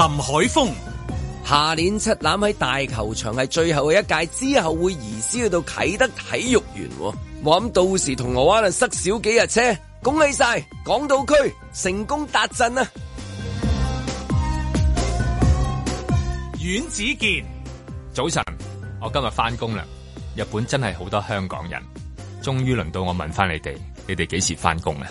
海峰。 下年七欖喺大球場係最後嘅一屆，之後會移師去到啟德體育園。我諗到時銅鑼灣啊塞少幾日車，恭喜晒港島區成功達陣啊！ 阮子健， 早晨，我今日返工啦。日本真係好多香港人，終於輪到我問返你哋幾時返工啊？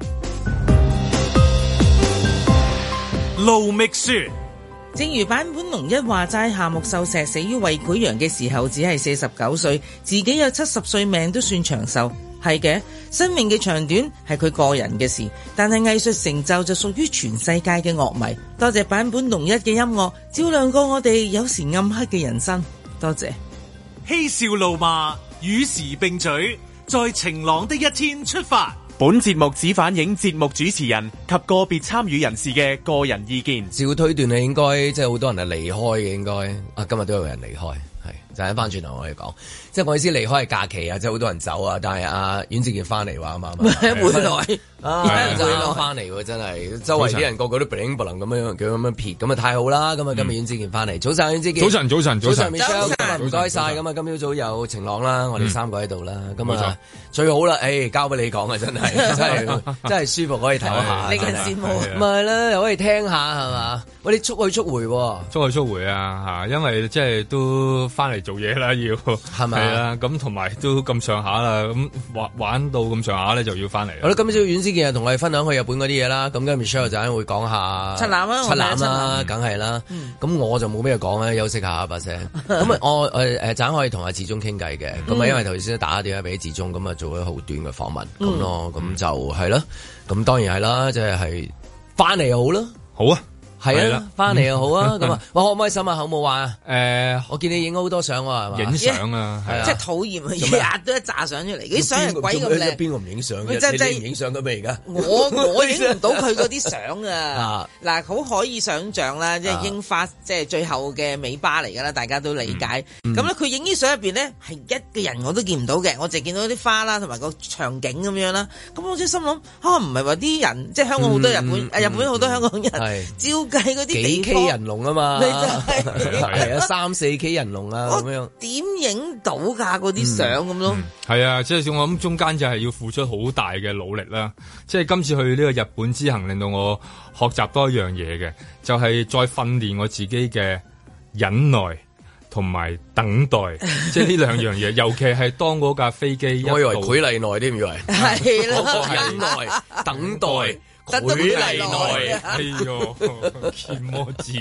盧覓雪。 正如坂本龍一話齋，夏目漱石死於胃潰瘍嘅時候只係49歲，自己有70歲命都算長壽。係嘅，生命嘅長短係佢個人嘅事，但係藝術成就就屬於全世界嘅樂迷。多謝坂本龍一嘅音樂，照亮過我哋有時暗黑嘅人生。多謝。 嬉笑怒罵，與時並舉，在晴朗的一天出發。 本節目只反映節目主持人及個別參與人士嘅個人意見。 照推斷係應該即係好多人係離開嘅，應該啊今日都有人離開，係就喺翻轉頭我哋講，即係我意思離開係假期啊，即係好多人走啊，但係阿阮志健翻嚟話啊嘛，回來就翻嚟喎，真係周圍啲人個個都 bling bling 咁樣撇，咁啊太好啦！咁啊今日阮志健翻嚟，早晨阮志健， 早晨 Michelle， 唔該晒，咁啊今朝早有晴朗啦，我哋三個喺度啦，咁啊最好啦，交俾你講啊，真係舒服，可以睇下， 令人羨慕， 唔係啦，又可以聽下係嘛？喂，你速去速回啊嚇，因為即係都翻嚟做嘢啦，要係咪啊？咁同埋都咁上下啦，咁玩到咁上下咧就要翻嚟。 好啦，今朝阮之健同我哋分享去日本嗰啲嘢啦，咁跟住 Michelle 就會講下七欖啦， 梗係啦。咁我就冇咩講啦，休息下把聲。咁啊，我陣可以同阿志忠傾偈嘅。咁啊，因為頭先打電話俾志忠，咁啊做咗好短嘅訪問咁咯。咁就係啦。咁當然係啦，即係翻嚟又好啦。 好啊。 係啊，翻嚟又好啊，咁啊，哇，開唔開心啊？好冇玩啊？我見你影好多相喎，係嘛？ 影相啊，係啊， 即係討厭啊！日日都一紮相出嚟，啲相係鬼咁靚。 邊個唔影相嘅？你唔影相嘅咩？而家我影唔到佢嗰啲相啊！嗱，好可以想像啦，即係櫻花，即係最後嘅尾巴嚟㗎啦，大家都理解。咁咧，佢影啲相入邊咧係一個人我都見唔到嘅，我淨係見到啲花啦，同埋個場景咁樣啦。咁我即係心諗唔係話啲人，即係香港好多日本好多香港人照。計嗰啲幾 K 人龍啊嘛，係啊3-4K 人龍啊咁樣， 點影到㗎嗰啲相咁咯？ 係啊，即係我諗中間就係要付出好大嘅努力啦。即係今次去呢個日本之行，令到我學習多一樣嘢嘅，就係再訓練我自己嘅忍耐同埋等待。即係呢兩樣嘢，尤其係當嗰架飛機， 我以為佢例內添，以為係啦， 忍耐等待。佢嚟耐， 哎呦，見魔字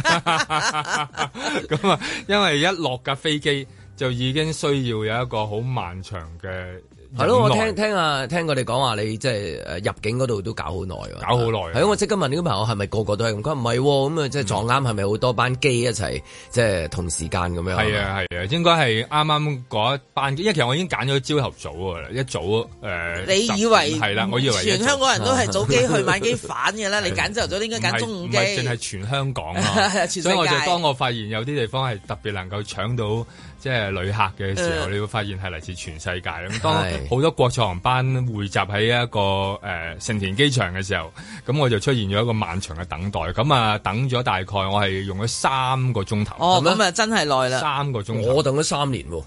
咁啊！因為一落架飛機就已經需要有一個好漫長嘅。係咯，我聽佢哋講話，你即係入境嗰度都搞好耐喎。 搞好耐。係咯，我即刻問呢個朋友係咪個個都係咁？佢話唔係喎，咁啊即係撞啱係咪好多班機一齊即係同時間咁樣？ 係啊，應該係啱啱嗰一班機，因為其實我已經揀咗朝頭早㗎啦，一早你以為係啦，我以為全香港人都係早機去晚機返嘅啦，你揀朝頭早應該揀中午機。 唔係淨係全香港啊，所以我就當我發現有啲地方係特別能夠搶到即係旅客嘅時候，你會發現係嚟自全世界咁。當好多國際航班匯集喺一個成田機場嘅時候，咁我就出現咗一個漫長嘅等待。咁啊，等咗大概我係用咗3個鐘頭。 哦，咁啊真係耐啦 ，3個鐘頭。 我等咗3年喎，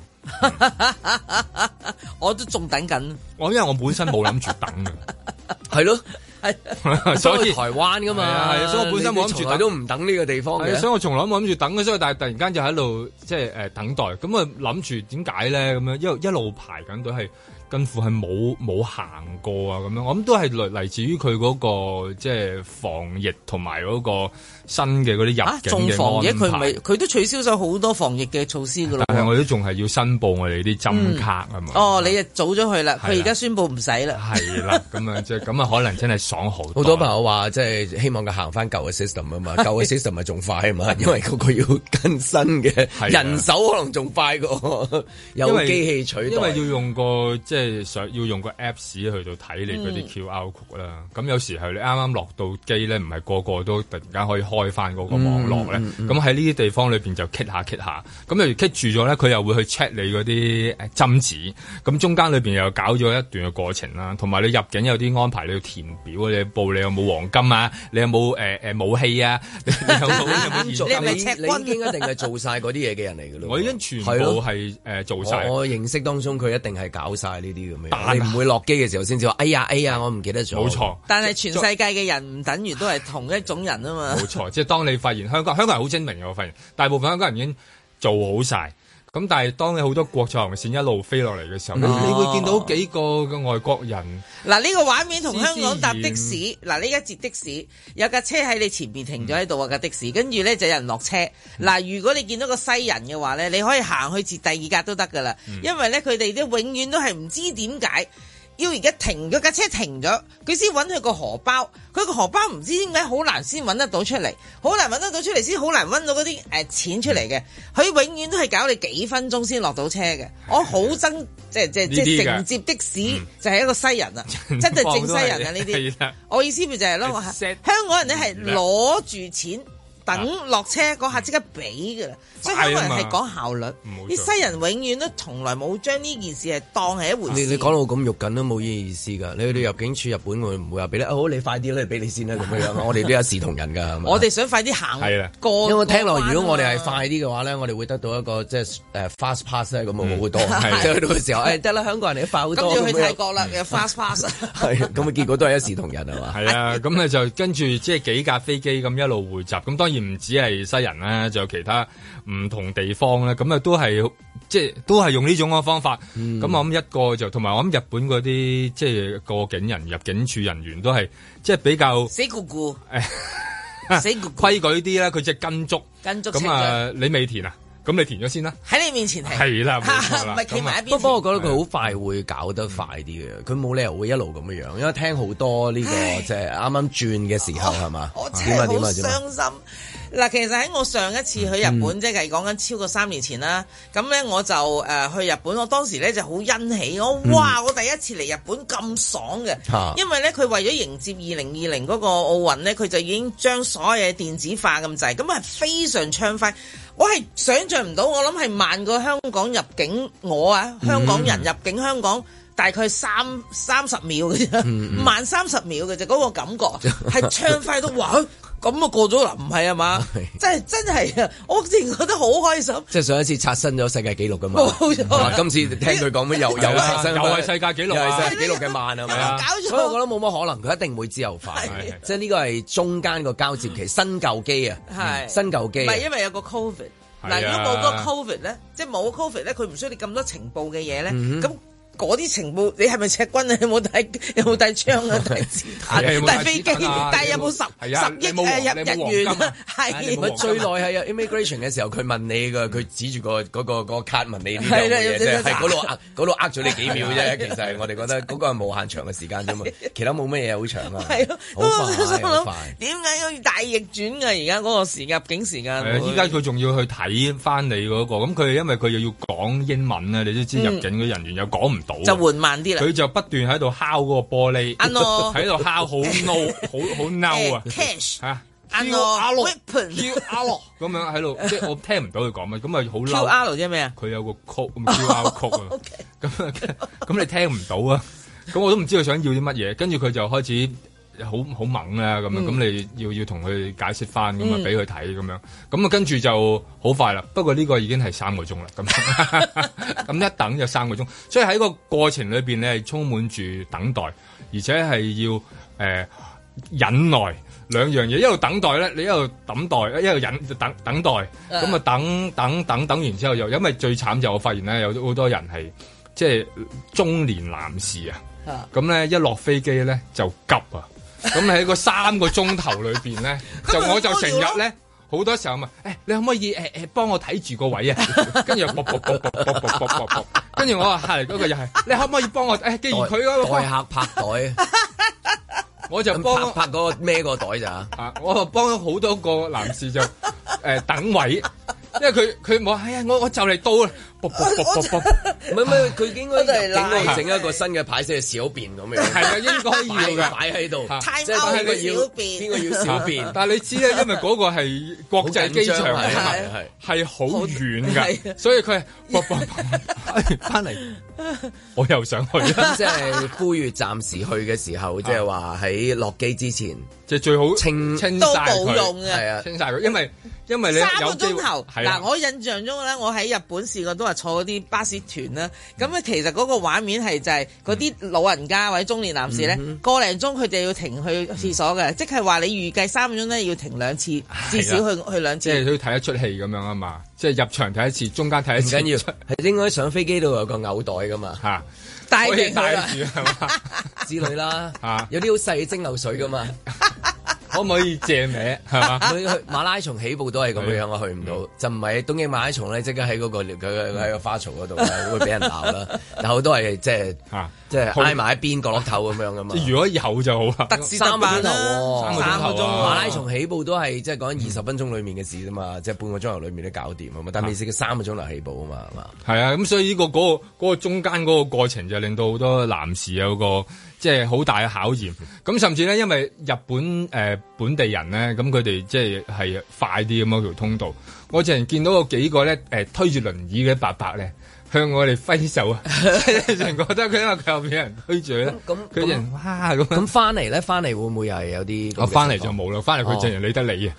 我都仲等緊。 因為我本身冇諗住等嘅， 係咯。所以台灣噶嘛， 係，所以我本身冇諗住等， 都唔等呢個地方嘅， 所以我從來冇諗住等嘅，所以但係突然間就喺度即係等待，咁啊諗住點解咧？咁樣一路排緊隊係。近乎係冇行過啊咁樣，我諗都係嚟自於佢嗰個即係防疫同埋嗰個新嘅嗰啲入境嘅安排。仲防疫佢都取消咗好多防疫嘅措施噶啦。 但係我都仲係要申報我哋啲針卡啊嘛。 哦，你早咗去啦，佢而家宣佈唔使啦。 係啦，咁啊即係咁啊，可能真係爽好多。 好多朋友話即係希望佢行翻舊嘅 system 啊嘛，舊嘅 system 咪仲快啊嘛，因為嗰個要更新嘅人手可能仲快過有機器取代， 因為要用個即係要用個 Apps 去到睇你嗰啲 QR code 啦。咁有時候你啱啱落到機咧，唔係個個都突然間可以開翻嗰個網絡咧。咁喺呢啲地方裏邊就棘下，咁例如棘住咗咧， 佢又會去 check 你嗰啲針紙，咁中間裏邊又搞咗一段嘅過程啦，同埋你入境有啲安排，你要填表，你報你有冇黃金啊，你有冇武器啊，你有冇現金？ 你應該一定係做晒嗰啲嘢嘅人嚟嘅咯。 我已經全部係做晒。 我認識當中佢一定係搞晒呢啲咁樣，你唔會落機嘅時候先至話哎呀，我唔記得咗。 冇錯， 但係全世界嘅人唔等於都係同一種人啊嘛。 冇錯，即係當你發現香港人好精明嘅，我發現大部分香港人已經做好晒。咁但係當你好多國際航線一路飛落嚟嘅時候，你會見到幾個嘅外國人。 嗱，呢個畫面同香港搭的士，嗱，呢一節的士有架車喺你前邊停咗喺度啊，架的士，跟住咧就有人落車。嗱，如果你見到個西人嘅話咧，你可以行去截第二格都得噶啦，因為咧佢哋都永遠都係唔知點解。要而家停咗架車停咗，佢先揾佢個荷包，佢個荷包唔知點解好難先揾得到出嚟，好難揾得到出嚟先好難揾到嗰啲錢出嚟嘅，佢永遠都係搞你幾分鐘先落到車嘅。我好憎即係承接的士就係一個西人啊，真係正西人啊呢啲。我意思咪就係咯，香港人咧係攞住錢。等落車嗰下即刻俾㗎啦，所以香港人係講效率，啲西人永遠都從來冇將呢件事係當係一回事。 你講到咁肉緊都冇意思㗎，你去到入境處日本會唔會話俾你？好，你快啲啦，俾你先啦咁樣。我哋都一視同仁㗎， 我哋想快啲行過。 因為聽落，如果我哋係快啲嘅話咧，我哋會得到一個即係fast pass 咧，咁啊好多。即係去到嘅時候，得啦，香港人你快好多。 跟住去泰國啦，有 fast pass。 係咁啊，結果都係一視同仁係嘛？ 係啊，咁咧就跟住即係幾架飛機咁一路匯集，咁當然。唔止係西人啦，仲有其他唔同地方咧，咁啊都係即係都係用呢種嘅方法。咁我諗一個就同埋我諗日本嗰啲即係過境人入境處人員都係即係比較死咕咕， 死規矩啲啦，佢即係跟足咁啊！你未填啊？咁你填咗先啦，喺你面前停。 係啦，冇錯啦。 唔係企埋一邊。 不過我覺得佢好快會搞得快啲嘅，佢冇理由會一路咁樣，因為聽好多呢個即係啱啱轉嘅時候係嘛？ 我真係好傷心。嗱，其實喺我上一次去日本，即係講緊超過3年前啦。咁咧我就去日本，我當時咧就好欣喜，我第一次嚟日本咁爽嘅，因為咧佢為咗迎接2020嗰個奧運咧，佢就已經將所有嘢電子化咁滯，咁係非常暢快。我係想像唔到，我諗係慢過香港入境香港人入境香港大概30秒嘅啫，慢30秒嘅啫，嗰個感覺係暢快到哇！咁啊過咗啦，唔係啊嘛？真係啊！我自然覺得好開心。 即係上一次刷新咗世界紀錄㗎嘛？ 冇錯。 今次聽佢講咩又刷新， 又係世界紀錄， 又係世界紀錄嘅慢係咪啊？所以我覺得冇乜可能，佢一定會自由快。即係呢個係中間個交接期，新舊機啊，新舊機。 唔係因為有個 Covid。嗱，如果冇個 Covid 咧，即係冇 Covid 咧，佢唔需要你咁多情報嘅嘢咧，咁。嗰啲情報，你係咪赤軍啊？有冇帶槍啊？帶子彈？帶飛機？但係有冇10億日元？係最耐係 immigration 嘅時候，佢問你佢指住個卡問你呢樣嘢啫，係嗰度呃咗你幾秒啫。其實我哋覺得嗰個係無限長嘅時間啫嘛，其他冇乜嘢好長啊。係咯，好快。點解要大逆轉㗎？而家嗰個入境時間。 依家佢仲要去睇翻你嗰個，咁佢因為佢又要講英文啊，你都知入境嘅人員又講唔。 就緩慢啲啦， 佢就不斷喺度敲嗰個玻璃，喺度敲好嬲，好嬲啊 ！Cash 嚇，QR 咁樣喺度，即係我聽唔到佢講乜，咁咪好嬲。 QR 即係咩啊？ 佢有個曲，QR 曲啊，咁你聽唔到啊？咁我都唔知佢想要啲乜嘢，跟住佢就開始。好猛啦咁樣，咁你要同佢解釋翻，咁啊俾佢睇咁樣，咁啊跟住就好快啦。不過呢個已經係3個鐘啦，咁一等就3個鐘，所以喺個過程裏邊你係充滿住等待，而且係要忍耐兩樣嘢，一路等待咧，你一路等待，一路等待，咁啊等完之後又因為最慘就我發現咧有好多人係即係中年男士啊，咁咧一落飛機咧就急啊！咁喺個3個鐘頭裏邊咧，我就成日咧好多時候問，你可唔可以幫我睇住個位啊？跟住跟住我話下嚟嗰個又係，你可唔可以幫我？既然佢嗰個代客拍袋， 我就幫拍嗰個孭個袋咋？ 我就幫咗好多個男士就等位， 因為佢冇我就嚟到啦，唔係佢應該入境整一個新嘅牌寫小便咁樣，係啊，應該要嘅擺喺度，即係邊個要小便？但係你知咧，因為嗰個係國際機場嚟啊嘛，係好遠㗎，所以佢係翻嚟，我又想去， 即係呼籲暫時去嘅時候，即係話喺落機之前， 即係最好清都冇用嘅， 係啊，清晒佢，因為你有 3個鐘頭嗱，我印象中咧，我喺日本試過都係坐嗰啲巴士團啦，咁咧其實嗰個畫面係就係嗰啲老人家或者中年男士咧，個零鐘佢哋要停去廁所嘅，即係話你預計3個鐘咧要停2次，至少去2次，即係都睇一出戲咁樣啊嘛，即係入場睇一次，中間睇一次，唔緊要， 係應該上飛機度有個嘔袋噶嘛嚇。 帶住係嘛之類啦，有啲好細嘅蒸餾水噶嘛， 可唔可以借名係嘛？ 去馬拉松起步都係咁樣，我去唔到，就唔係東京馬拉松咧，即刻喺嗰個佢喺個花槽嗰度會俾人鬧啦。但好多係即係挨埋一邊角落頭咁樣噶嘛。 如果有就好啦， 得3個鐘頭 3個鐘頭馬拉松起步都係即係講緊20分鐘裡面嘅事啫嘛，即係半個鐘頭裡面都搞掂啊嘛。但係你試3個鐘頭起步啊嘛，係嘛？ 係啊，咁所以嗰個中間嗰個過程就令到好多男士有個即係好大嘅考驗。咁甚至咧，因為日本本地人咧，咁佢哋即係快啲咁樣條通道。我之前見到個幾個咧推住輪椅嘅伯伯咧，向我哋揮手啊！成覺得佢因為佢後邊有人推住咧，佢人哇咁。咁翻嚟會唔會又係有啲？ 我翻嚟就冇啦，翻嚟佢淨係理得你啊！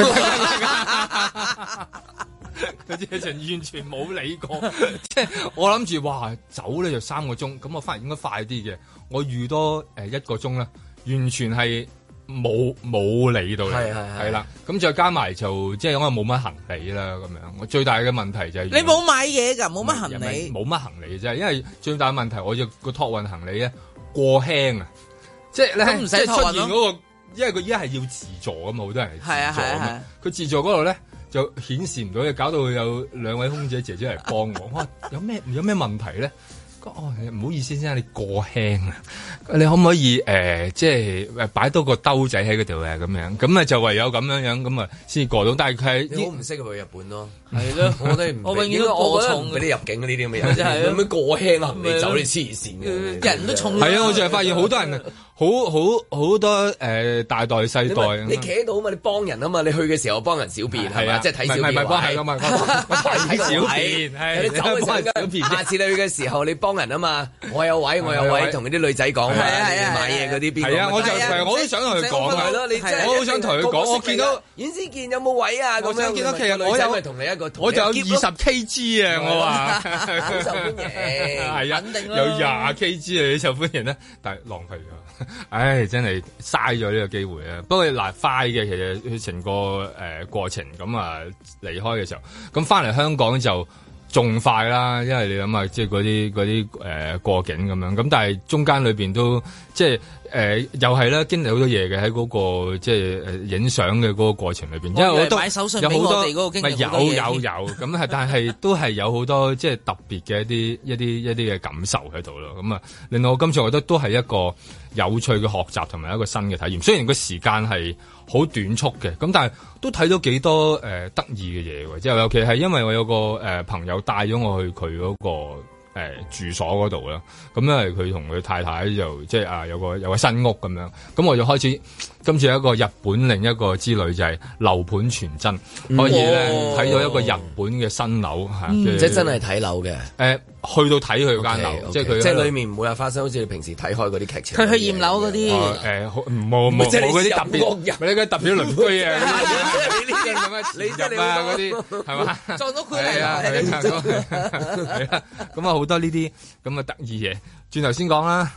佢直情完全冇理過，即係我諗住哇走咧就3個鐘，咁我翻嚟應該快啲嘅。我預多1個鐘啦，完全係冇理到你，係啦。咁再加埋就即係我冇乜行李啦咁樣。我最大嘅問題就係你冇買嘢㗎，冇乜行李， 冇乜行李啫。因為最大嘅問題，我個託運行李咧過輕啊，即係咧即係出現嗰個，因為佢依家係要自助㗎嘛，好多人係自助㗎嘛。佢自助嗰度咧就顯示唔到，搞到有2位空姐姐姐嚟幫我。我話有咩問題咧？唔好意思先，你過輕啊！你可唔可以即係擺多個兜仔喺嗰度啊？咁樣咁啊就唯有咁樣咁啊先過到。但係佢你好唔適合去日本咯， 係咯，我永遠都過重嗰啲入境嗰啲咁嘅人，真係咁樣過輕啊！你走你黐線嘅， 人都重。 係啊，我就係發現好多人。好多大袋細袋， 你企喺度啊嘛，你幫人啊嘛，你去嘅時候幫人小便係嘛，即係睇小便。 唔係幫係咁嘛，睇小便係你走嘅小便。下次你去嘅時候，你幫人啊嘛，我有位，同嗰啲女仔講，買嘢嗰啲邊個？ 係啊，我都想同佢講係咯，我好想同佢講，我見到阮思健有冇位啊？咁樣見到其實我有同你一個，我就有20 kg 啊！我話好受歡迎， 係啊，有20 kg 啊，你受歡迎咧，但係浪費咗。唉，真係嘥咗呢個機會啊！不過嗱，快嘅其實佢成個過程咁啊，離開嘅時候，咁翻嚟香港就仲快啦，因為你諗下，即係嗰啲過境咁樣，咁但係中間裏邊都即係又係啦，經歷好多嘢嘅喺嗰個即係影相嘅嗰個過程裏邊，因為我都買手信俾我哋嗰個經歷好多嘢， 有咁係，但係都係有好多即係特別嘅一啲嘅感受喺度咯。咁啊，令到我今次我覺得都係一個有趣嘅學習同埋一個新嘅體驗。雖然個時間係好短促嘅，咁但係都睇到幾多得意嘅嘢喎。即係尤其係因為我有個朋友帶咗我去佢嗰個住所嗰度啦，咁因為佢同佢太太就即係有個新屋咁樣，咁我就開始今次有一個日本另一個之旅就係樓盤傳真，可以咧睇到一個日本嘅新樓嚇， 即係真係睇樓嘅。 去到睇佢間樓，即係佢， 即係裏面唔會話發生好似你平時睇開嗰啲劇情。 佢去驗樓嗰啲， 冇嗰啲特別，你嗰特別鄰居啊， 你呢啲咁嘅，你即係你嗰啲係嘛？ 撞到佢嚟啊！係啊，咁啊好多呢啲咁嘅得意嘢，轉頭先講啦。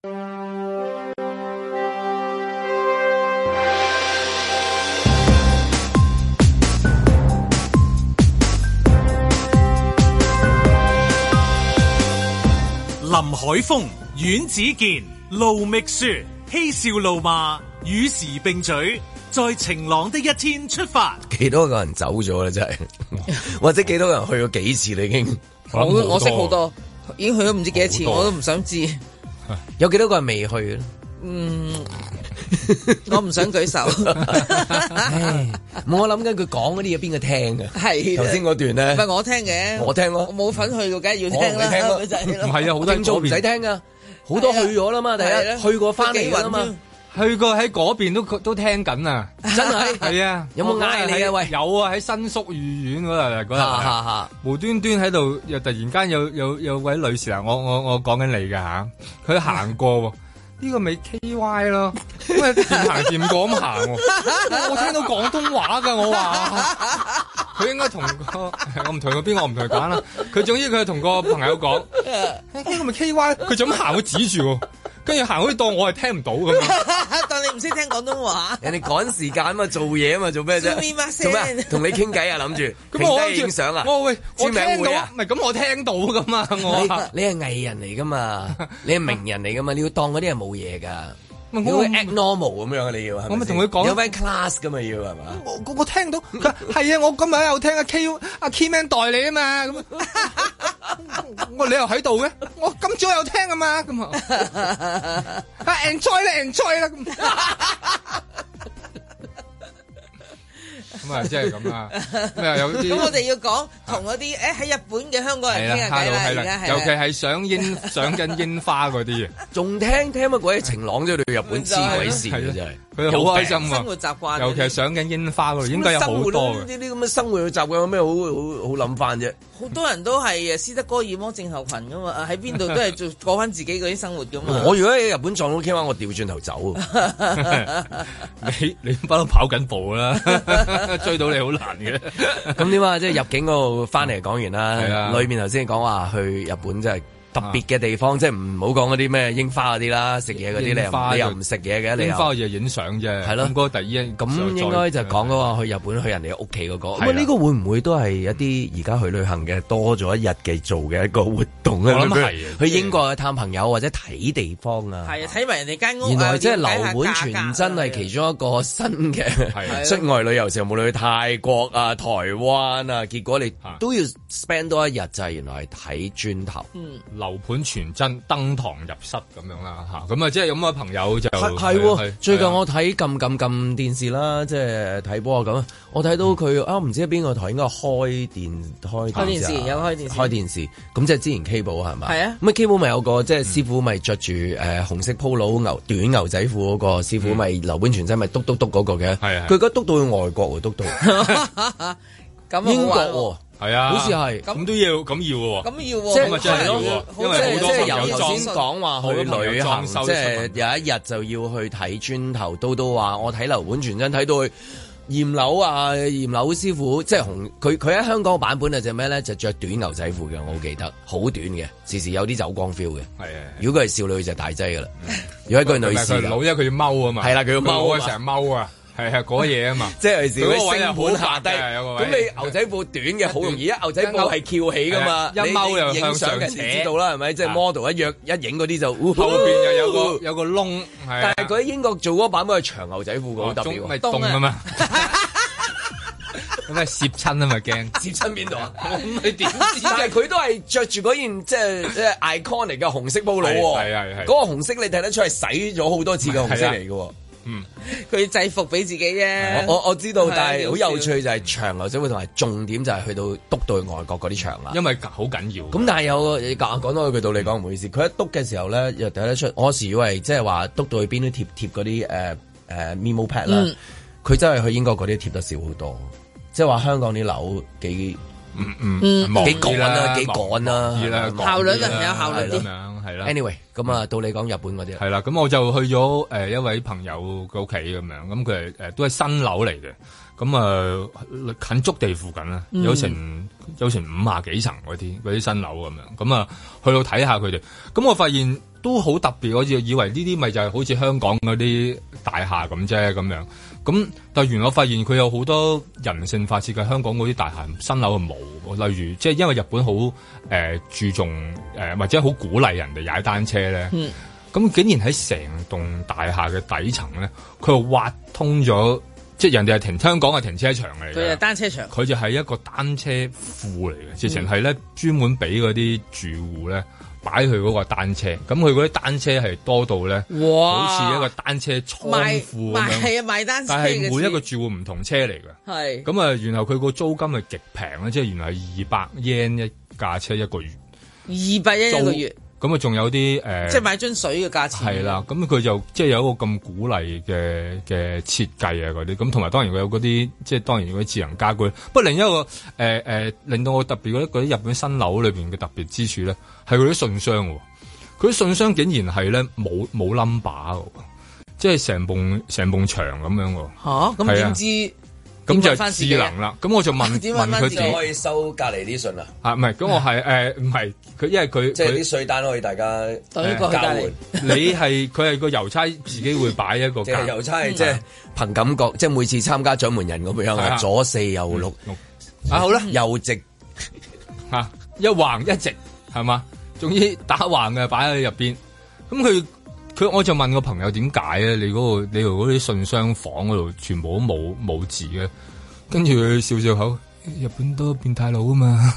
林海峰、阮子健、盧覓雪，嬉笑怒罵，與時並舉，在晴朗的一天出發。 幾多個人走咗咧？真係，或者幾多個人去咗幾次？你已經我識好多，已經去咗唔知幾多次，我都唔想知。 有幾多個人未去咧？ 我唔想舉手。 我諗緊佢講嗰啲嘢邊個聽嘅？ 係頭先嗰段咧， 唔係我聽嘅， 我聽咯， 我冇份去到，梗係要聽啦。 唔係啊，好多人做唔使聽噶，好多去咗啦嘛，第一去過翻嚟啦嘛。 去過喺嗰邊都聽緊啊！ 真係係啊！ 有冇嗌你啊？喂， 有啊！喺新宿御苑嗰日，無端端喺度又突然間有位女士啊！我講緊你㗎吓，佢行過呢個咪 KY 咯，因為掂行掂過咁行，我聽到廣東話㗎，我話佢應該同我唔同佢邊個，我唔同佢揀啦。佢總之佢同個朋友講呢個咪 KY，佢就咁行，佢指住。跟住行好似當我係聽唔到咁樣， 當你唔識聽廣東話。 人哋趕時間嘛，做嘢嘛，做咩啫？做咩？同你傾偈啊，諗住咁我影相啊？ 我聽到，唔係咁我聽到噶嘛？ 你係藝人嚟噶嘛？你係名人嚟噶嘛？你要當嗰啲係冇嘢噶。你會 act normal 咁樣你要，我咪同佢講有咩 class 噶嘛要係嘛？ 我聽到佢係啊，我今日有聽阿 Keyman 代理啊嘛，咁我你又喺度嘅，我今朝有聽啊嘛，咁啊 enjoy 啦咁。咁啊，即係咁啦。 咁我哋要講同嗰啲喺日本嘅香港人傾下偈啦，而家係尤其係上緊櫻花嗰啲啊， 仲聽乜鬼晴朗啫？去日本黐鬼線嘅真係， 佢好開心啊！ 生活習慣， 尤其係上緊櫻花嗰度，應該有好多嘅。 呢啲咁嘅生活嘅習慣有咩好諗翻啫？ 好多人都係斯德哥爾摩症候群噶嘛，喺邊度都係過翻自己嗰啲生活噶嘛。 我如果喺日本撞到 K 灣，我調轉頭走。 你不嬲跑緊步啦。追到你好難嘅， 咁點啊？即係入境嗰度翻嚟講完啦，裏面頭先講話去日本真係特別嘅地方，即係唔好講嗰啲咩櫻花嗰啲啦，食嘢嗰啲你又唔食嘢嘅，櫻花就影相啫，係咯。咁嗰個第一咁應該就講嗰個去日本去人哋屋企嗰個。咁呢個會唔會都係一啲而家去旅行嘅多咗一日嘅做嘅一個活動咧？ 我諗係去英國去探朋友或者睇地方啊。 係啊，睇埋人哋間屋。 原來即係樓盤傳真係其中一個新嘅出外旅遊時候，無論去泰國啊、台灣啊，結果你都要 spend 多一日，就係原來係睇磚頭。 樓盤傳真登堂入室咁樣啦嚇，咁啊即係有咁嘅朋友就係最近我睇撳電視啦，即係睇波咁，我睇到佢唔知邊個台應該開電視有開電視， 咁即係之前 Cable 係咪？ 係啊， 咁 Cable 咪有個即係師傅咪着住紅色 polo 短牛仔褲嗰個師傅咪樓盤傳真咪篤嗰個嘅，佢而家篤到去外國喎，篤到英國喎。 係啊， 好似係咁都要咁要喎， 咁要喎， 即係真係要喎，因為好多朋友由頭先講話去旅行，即係有一日就要去睇磚頭，到話我睇樓盤傳真睇到去驗樓啊，驗樓師傅即係佢喺香港版本係隻咩咧？就着短牛仔褲嘅，我好記得，好短嘅，時時有啲走光 feel 嘅。係啊，如果佢係少女就大劑噶啦，如果佢係女士， 老因為佢要踎啊嘛，係啦，佢要踎成日踎啊。係嗰嘢啊嘛， 即係時嗰個星盤下低， 咁你牛仔褲短嘅好容易，牛仔褲係翹起噶嘛， 一踎又向上扯， 知道啦係咪？即係 model 一影嗰啲就後邊又有個窿， 但係佢喺英國做嗰版本係長牛仔褲嘅，好特別， 咪凍啊嘛，咁咪攝親啊嘛驚， 攝親邊度啊？你點知？但係佢都係着住嗰件即係 iconic 嘅紅色 polo 喎，嗰個紅色你睇得出係洗咗好多次嘅紅色嚟嘅。 佢制服俾自己啫。 我知道，但係好有趣就係長牛仔褲同埋重點就係去到篤到去外國嗰啲場啦。 因為好緊要。咁但係有講多句道理講唔好意思，佢一篤嘅時候咧又睇得出，我時以為即係話篤到去邊都貼嗰啲memo pad 啦，佢真係去英國嗰啲貼得少好多，即係話香港啲樓幾趕啦，幾趕啦， 效率係有效率啲。 係啦 ，anyway，咁啊，到你講日本嗰啲係啦，咁我就去咗一位朋友嘅屋企咁樣，咁佢係都係新樓嚟嘅，咁啊近築地附近啦，有成50幾層嗰啲新樓咁樣，咁啊去到睇下佢哋，咁我發現都好特別，我以為呢啲咪就係好似香港嗰啲大廈咁啫咁樣，咁但係原來我發現佢有好多人性化設計，香港嗰啲大廈新樓係冇。例如，即係因為日本好注重或者好鼓勵人哋踩單車咧，咁竟然喺成棟大廈嘅底層咧，佢又挖通咗即係人哋係香港係停車場嚟嘅， 佢係單車場， 佢就係一個單車庫嚟嘅，直情係咧專門俾嗰啲住戶咧擺佢嗰個單車，咁佢嗰啲單車係多到咧，好似一個單車倉庫咁樣，係啊賣單車，但係每一個住戶唔同車嚟嘅，係咁啊，然後佢個租金係極平咧，即係原來係200 yen 一架車一個月，200 yen 一個月。咁啊，仲有啲即係買樽水嘅價錢。係啦，咁佢就即係有一個咁鼓勵嘅設計啊嗰啲，咁同埋當然佢有嗰啲即係當然嗰啲智能家居。不過另一個令到我特別覺得嗰啲日本新樓裏邊嘅特別之處咧，係佢啲信箱喎。佢啲信箱竟然係咧冇 number 嘅，即係成埲牆咁樣喎。嚇！咁點知？咁就智能啦，咁我就問佢點可以收隔離啲信啊？ 唔係，咁我係唔係佢，因為佢即係啲稅單可以大家交換。 佢係個郵差自己會擺一個， 即係郵差即係憑感覺，即係每次參加獎門人咁樣啊，左四右六好啦， 右直一橫一直係嘛，總之打橫嘅擺喺入邊，咁我就問個朋友點解咧？你嗰啲信箱房嗰度全部都冇字嘅，跟住佢笑笑口，日本多變態佬啊嘛，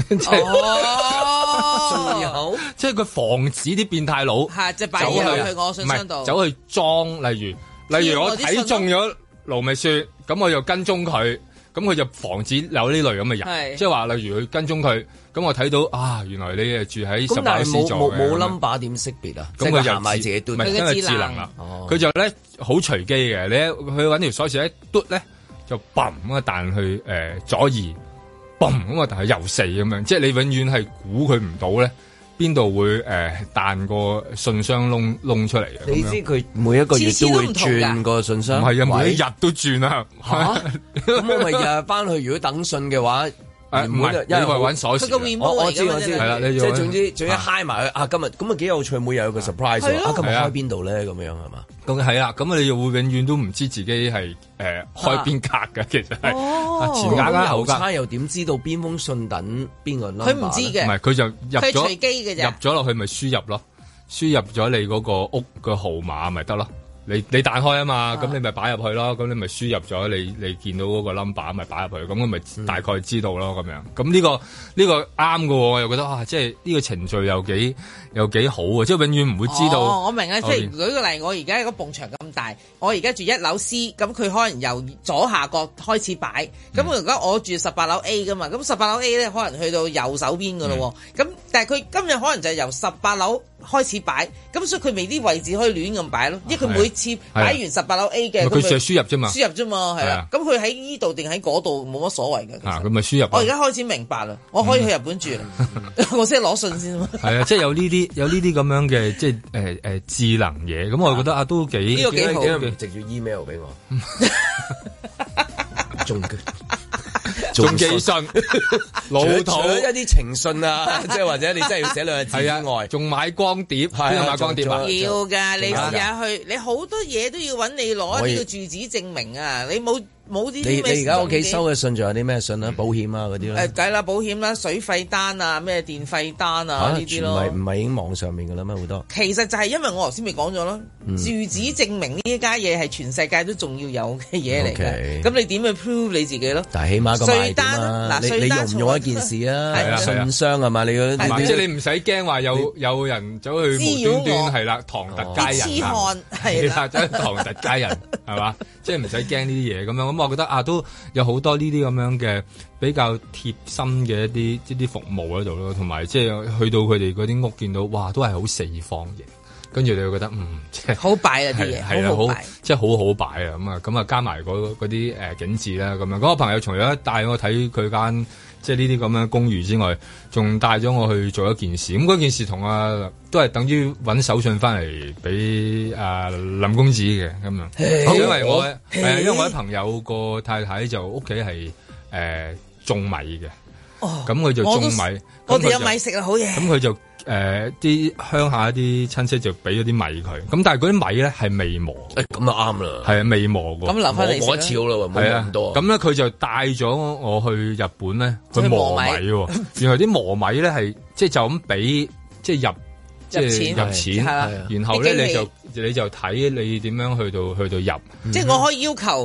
仲有即係佢防止啲變態佬即係擺入去我信箱度， 走去裝，例如我睇中咗盧覓雪，咁我就跟蹤佢。咁佢就防止有呢類咁嘅人，即係話例如佢跟蹤佢，咁我睇到原來你係住喺18樓 C 座嘅， 冇 number 點識別啊？ 咁佢就買自己嘟， 唔係因為智能啦，佢就咧好隨機嘅，你去揾條鎖匙一嘟咧，就嘣咁啊彈去左二，嘣咁啊彈去右四咁樣，即係你永遠係估佢唔到咧。邊度會彈個信箱窿出嚟嘅？ 你知佢每一個月都會轉個信箱？ 唔係啊，每一日都轉啊！ 咁我咪日翻去，如果等信嘅話， 唔係，因為揾鎖匙。 我知， 係啦，你即係總之嗨埋佢今日咁啊幾有趣，每日有個 surprise 今日開邊度咧？咁樣係嘛？ 咁係啦，咁你又會永遠都唔知自己係開邊格嘅，其實係前格啦後格。 郵差又點知道邊封信等邊個 number？ 佢唔知嘅， 唔係佢就入咗， 佢隨機嘅啫。 入咗落去咪輸入咯，輸入咗你嗰個屋嘅號碼咪得咯。你彈開啊嘛，咁你咪擺入去咯，咁你咪輸入咗你見到嗰個 number 咪擺入去，咁我咪大概知道咯咁樣。咁呢個啱㗎喎，我又覺得即係呢個程序又幾好啊！即係永遠唔會知道。 我明啊，即係舉個例，我而家個埲牆咁大，我而家住1樓 C，咁佢可能由左下角開始擺，咁如果我住18樓 A 噶嘛，咁18樓 A 咧可能去到右手邊噶咯喎，咁但係佢今日可能就係由18樓開始擺，咁所以佢未啲位置可以亂咁擺咯，因為佢每次擺完18樓 A 嘅， 佢就係輸入啫嘛， 輸入啫嘛，係啊，咁佢喺呢度定喺嗰度冇乜所謂嘅。 咁咪輸入。 我而家開始明白啦，我可以去日本住啦，我先攞信先嘛。 係啊，即係有呢啲咁樣嘅即係智能嘢，咁我覺得都幾呢個幾好嘅，直接 email 俾我。 仲寄信，老土一啲情信啊，即係或者你真係要寫兩個字之外， 仲買光碟，邊度買光碟啊？ 要㗎，你試下去，你好多嘢都要揾你攞呢個住址證明啊！你冇啲你而家屋企收嘅信仲有啲咩信啊？保險啊嗰啲咧？ 梗啦，保險啦、水費單啊、咩電費單啊呢啲咯。 唔係已經網上面㗎啦咩好多？ 其實就係因為我頭先咪講咗咯，住址證明呢一家嘢係全世界都仲要有嘅嘢嚟嘅。咁你點去 prove 你自己咯？ 但係起碼個賣點啊！你用唔用一件事啊？信箱係嘛？你嗰即係你唔使驚話有人走去無端端係啦，唐突街人係啦，走去唐突街人係嘛？即係唔使驚呢啲嘢咁樣。咁我覺得都有好多呢啲咁樣嘅比較貼心嘅一啲服務喺度咯，同埋即係去到佢哋嗰啲屋見到，哇，都係好四方形，跟住你會覺得即係好擺啊啲嘢，係啦，好即係好擺啊咁啊加埋嗰啲景緻啦咁樣。嗰個朋友除咗帶我睇佢間即係呢啲咁樣公寓之外，仲帶咗我去做一件事。咁嗰件事同都係等於揾手信翻嚟俾林公子嘅咁樣，因為我啲朋友個太太就屋企係種米嘅，咁佢就種米， 我哋有米食啊，好嘢。 咁佢就啲鄉下啲親戚就俾咗啲米佢，咁但係嗰啲米咧係未磨， 咁就啱啦， 係啊未磨過， 咁留翻嚟磨一次好啦，冇咁多。 咁咧佢就帶咗我去日本咧去磨米喎，原來啲磨米咧係即係就咁俾即係入錢，然後咧你就睇你點樣去到入， 即係我可以要求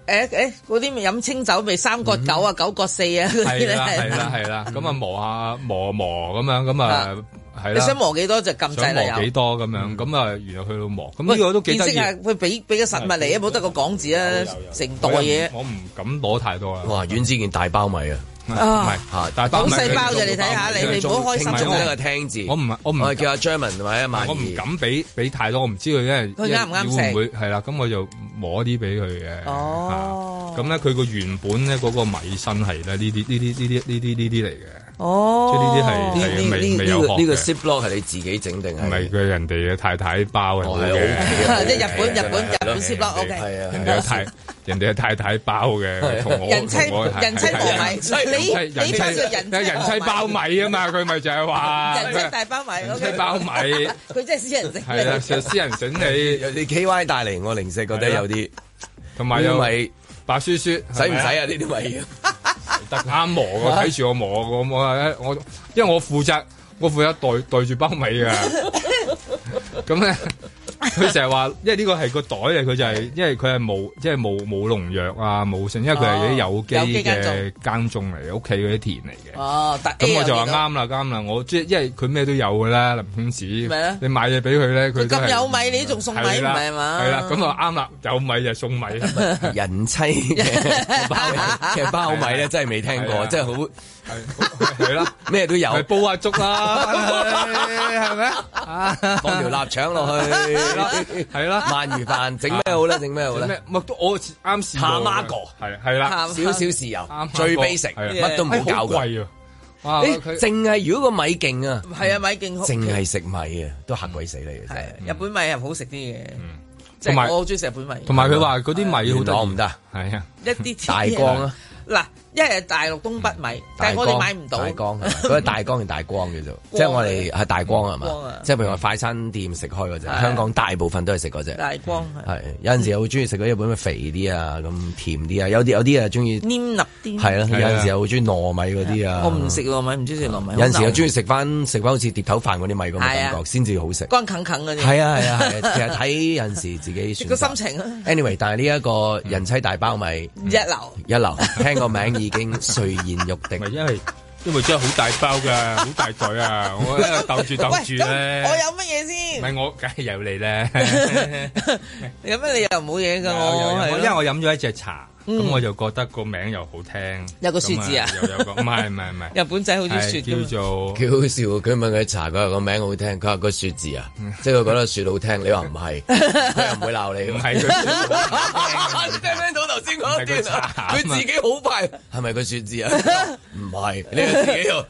嗰啲咪飲清酒咪3角9啊9角4啊嗰啲咧， 係啦，咁啊磨咁樣，咁啊係啦。 你想磨幾多就撳掣啦， 想磨幾多咁樣，咁啊原來去到磨，咁呢個都幾得意。見識下佢俾個實物嚟啊，冇得個講字啊，成袋嘢。 我唔敢攞太多啦。 哇，阮之健大包米啊！ 唔係大包好細包啫，你睇下你唔好開心。 仲有一個聽字， 我唔叫阿 Jerman 或者萬兒， 我唔敢俾太多，我唔知佢因為佢啱唔啱食， 會唔會係啦？咁我就磨啲俾佢嘅。哦，咁咧佢個原本咧嗰個米身係咧呢啲嚟嘅。哦，即係呢啲係未有學嘅。 呢個 Ziploc 係你自己整定係？ 唔係佢人哋嘅太太包嘅。 即係日本 Ziploc OK。 係啊， 人哋係太太包嘅，同我人妻磨米， 人妻包米啊嘛，佢咪就係話人妻大包米， 人妻包米， 佢真係私人整。 係啦，私人整你有啲 KY 帶嚟我零食覺得有啲， 同埋有米白雪雪， 使唔使啊？呢啲米得啱磨，我睇住我磨，我因為我負責袋住包米㗎，咁咧。佢成日話，因為呢個係個袋嚟，佢就係因為佢係冇農藥啊，冇剩，因為佢係啲有機嘅耕種嚟，屋企嗰啲田嚟嘅。哦，咁我就話啱啦，我即係因為佢咩都有㗎啦，林公子。咩咧？你買嘢俾佢咧，佢咁有米，你仲送米唔係嘛？ 係啦，咁啊啱啦，有米就送米。 人妻嘅包米咧，真係未聽過，真係好。 係啦， 咩都有， 煲下粥啦，係咪啊？ 放條臘腸落去， 係啦， 鰻魚飯整咩好咧？整咩好咧？ 我啱試過。 蛤媽係啦， 少少豉油，最 basic，乜都唔好搞嘅。 哇！ 淨係如果個米勁啊， 係啊，米勁好， 淨係食米啊，都嚇鬼死你嘅。 係日本米係好食啲嘅，即係我好中意食日本米。 同埋佢話嗰啲米好多唔得， 係啊， 一啲大光啊。 嗱，一係大陸東北米，但係我哋買唔到。 大江嗰個大江定大光叫做，即係我哋係大光係嘛？即係譬如話快餐店食開嗰隻，香港大部分都係食嗰隻。 大光係有陣時好中意食嗰啲日本嘅肥啲啊，咁甜啲啊，有啲啊中意黏粒啲。 係啦，有陣時又好中意糯米嗰啲啊。 我唔食糯米，唔中意食糯米。 有陣時又中意食翻好似碟頭飯嗰啲米咁嘅感覺，先至好食。 乾啃啃嗰啲。 係啊，其實睇有陣時自己選擇。 個心情啊。 Anyway，但係呢一個人妻大包米一流，聽個名已經垂涎欲滴。 因為真係好大包㗎，好大袋啊！我鬥住咧。 我有乜嘢先？ 唔係我，梗係有你咧。 有咩理由冇嘢㗎？ 因為我飲咗一隻茶，咁我就覺得個名又好聽。 有個雪字啊？ 又有個唔係。 日本仔好中意雪， 叫做幾好笑。佢問佢茶，佢話個名好聽，佢話個雪字啊，即係佢覺得雪好聽。你話唔係，佢又唔會鬧你。唔係佢。你聽唔聽到頭先嗰段啊？佢自己好快，係咪個雪字啊？唔係，你係自己又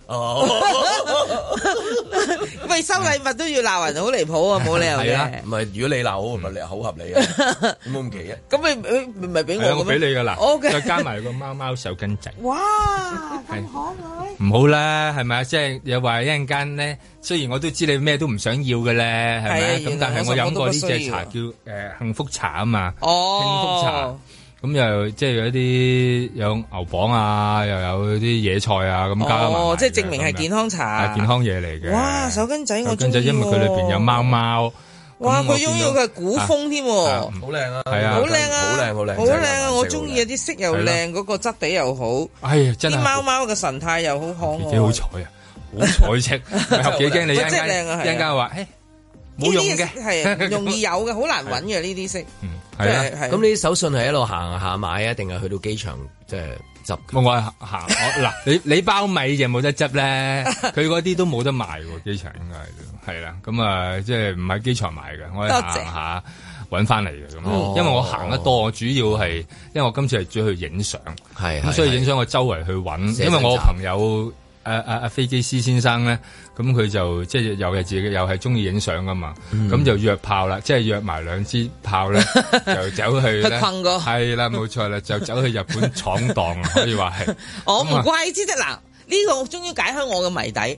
喂，收禮物都要鬧人，好離譜啊！冇理由嘅。 唔係，如果你鬧我，咪你好合理啊？冇咁奇啊？咁你咪俾我？ 我俾你噶啦。 O K。 再加埋個貓貓手巾仔。 哇，咁可愛。 唔好啦，係咪啊？即係又話一陣間咧，雖然我都知你咩都唔想要嘅咧，係咪？咁但係我飲過呢隻茶叫幸福茶啊嘛。哦。幸福茶。咁又即係有一啲有牛蒡啊，又有啲野菜啊，咁加埋。 哦，即係證明係健康茶。 係健康嘢嚟嘅。 哇，手巾仔我中意。 手巾仔因為佢裏邊有貓貓。 哇，佢擁有嘅古風添。 好靚啊！係啊， 好靚啊！ 好靚，好靚。 好靚啊！我中意啊，啲色又靚，嗰個質地又好。 哎呀，真係。啲貓貓嘅神態又好可愛。 幾好彩啊！好彩色，幾驚你一陣間話，冇用嘅， 係容易有嘅，好難揾嘅呢啲色。 係啊，咁你啲手信係一路行下買啊，定係去到機場即係執？ 我行嗱，你包米就冇得執咧，佢嗰啲都冇得賣喎，機場應該係啦。咁啊，即係唔喺機場買嘅，我係行下揾翻嚟嘅咁。因為我行得多，我主要係因為我今次係主要去影相，咁所以影相我周圍去揾，因為我朋友。飛機師先生咧，咁佢就即係又係自己又係中意影相噶嘛，咁就約炮啦，即係約埋2支炮咧，就走去咧，係啦，冇錯啦，就走去日本闖蕩，可以話係。 我唔怪之得嗱，呢個終於解開我嘅謎底。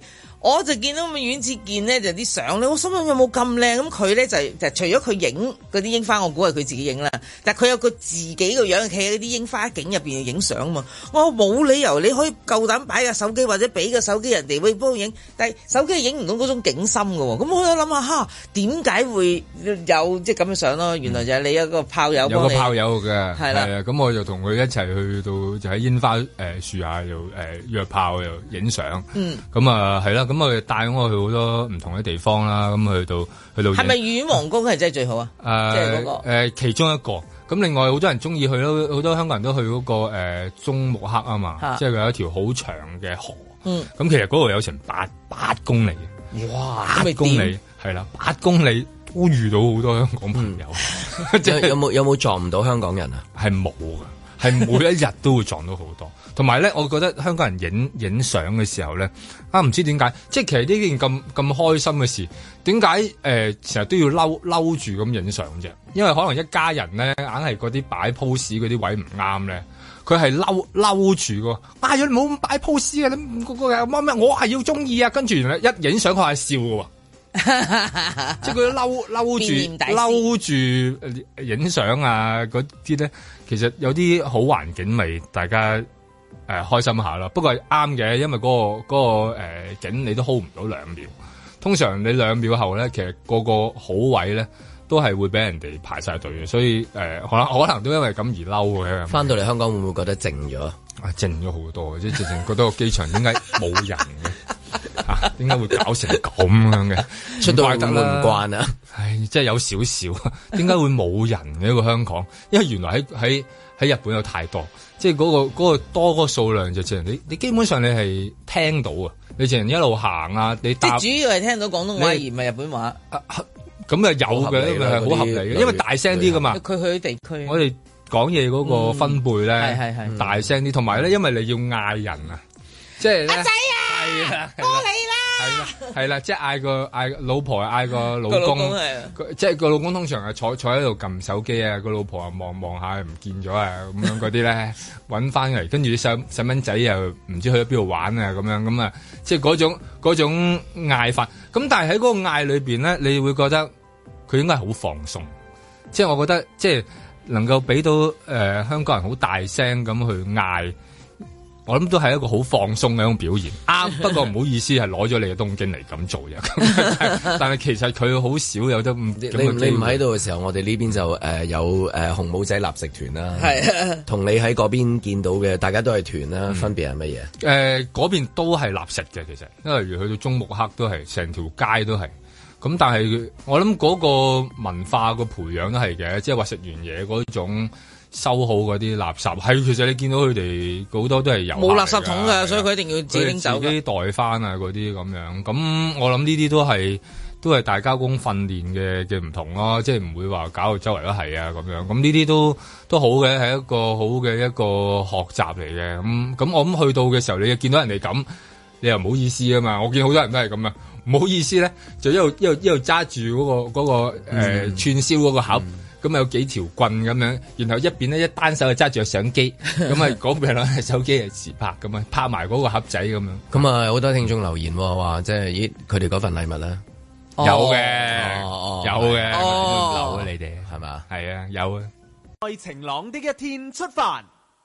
我就見到阮子健咧就啲相咧，我心諗有冇咁靚？咁佢咧就除咗佢影嗰啲櫻花，我估係佢自己影啦。但係佢有個自己個樣企喺啲櫻花景入邊影相嘛。我冇理由你可以夠膽擺個手機或者俾個手機人哋喂幫我影，但係手機影唔到嗰種景深嘅喎。咁我喺度諗下點解會有即係咁嘅相咯？原來就係你有個炮友， 有個炮友嘅係啦。 咁我就同佢一齊去到就喺煙花樹下又約炮又影相。咁啊係啦。咁佢帶我去好多唔同嘅地方啦，咁去到係咪御苑皇宮係真係最好啊？即係嗰個其中一個。咁另外好多人中意去咯，好多香港人都去嗰個中目黑啊嘛，即係佢有一條好長嘅河。咁其實嗰度有成8公里。哇！8公里係啦，8公里都遇到好多香港朋友。 有冇撞唔到香港人啊？ 係冇㗎。係每一日都會撞到好多，同埋咧，我覺得香港人影相嘅時候咧，唔知點解，即係其實呢件咁開心嘅事，點解成日都要嬲住咁影相啫？因為可能一家人咧，硬係嗰啲擺 pose 嗰啲位唔啱咧，佢係嬲住㗎。哎呀，你唔好咁擺 pose 啊！你乜我係要中意啊！跟住原來一影相佢係笑㗎喎。即係佢嬲住影相啊嗰啲咧，其實有啲好環境咪大家開心下咯。不過係啱嘅，因為嗰個景你都 hold 唔到2秒。通常你2秒後咧，其實個好位咧都係會俾人哋排晒隊嘅，所以可能都因為咁而嬲嘅。 翻到嚟香港會唔會覺得靜咗？ 靜咗好多，即係直情覺得個機場點解冇人嘅？點解會搞成咁樣嘅？ 出到去會唔慣啊？ 唉，即係有少少，點解會冇人嘅一個香港？因為原來喺日本有太多，即係嗰個多嗰個數量就淨係你基本上你係聽到啊，你淨係一路行啊，你即係主要係聽到廣東話而唔係日本話。 咁啊有嘅，係好合理嘅，因為大聲啲噶嘛。 佢去地區， 我哋講嘢嗰個分貝咧，係大聲啲，同埋咧，因為你要嗌人啊，即係阿仔啊，係啊， 多你啦， 係啦，即係嗌老婆嗌個老公，即係個老公通常係坐喺度撳手機啊，個老婆啊望下唔見咗啊，咁樣嗰啲咧搵翻嚟，跟住啲細蚊仔又唔知去咗邊度玩啊，咁啊，即係嗰種嗌法。咁但係喺嗰個嗌裏邊咧，你會覺得佢應該係好放鬆，即係我覺得即係能夠俾到香港人好大聲咁去嗌。我諗都係一個好放鬆嘅一種表現，不過唔好意思係攞咗你嘅東京嚟咁做啫。但係其實佢好少有得你唔喺度嘅時候，我哋呢邊就有紅帽仔立食團啦。係同你喺嗰邊見到嘅，大家都係團啦，分別係乜嘢？ 嗰邊都係立食嘅，其實，因為例如去到中目黑都係成條街都係。咁但係我諗嗰個文化個培養都係嘅，即係話食完嘢嗰種。收好嗰啲垃圾係，其實你見到佢哋好多都係有冇垃圾桶㗎，所以佢一定要自己拎走， 自己袋翻啊嗰啲咁樣。咁我諗呢啲都係大家工訓練嘅唔同咯，即係唔會話搞到周圍都係啊咁樣。咁呢啲都好嘅，係一個好嘅一個學習嚟嘅。咁我諗去到嘅時候，你見到人哋咁，你又唔好意思啊嘛。我見好多人都係咁啊，唔好意思咧，就一路揸住嗰個串燒嗰個盒。咁有幾條棍咁樣，然後一邊咧一單手就揸住個相機，咁啊嗰邊攞手機嚟自拍咁啊，拍埋嗰個盒仔咁樣。 咁啊好多聽眾留言話，即係佢哋嗰份禮物咧， 有嘅，有嘅，留啊你哋係嘛？係啊，有啊。 在晴朗的一天出發。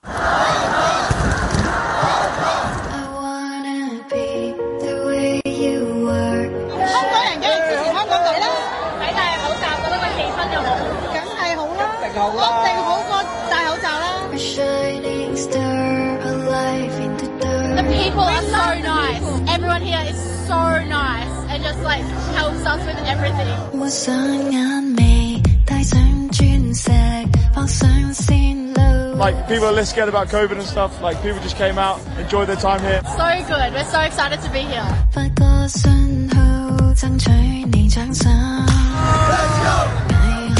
香港人梗係支持香港隊啦，睇戴口罩覺得個氣氛又好。一定好過戴口罩啦。The people are so nice. Everyone here is so nice and just like helps us with everything. 抹上眼眉，戴上鑽石，放上線路。 Like people are less scared about COVID and stuff. Like people just came out, enjoyed their time here. So good. We're so excited to be here. 發個信號，爭取你掌聲。Let's go.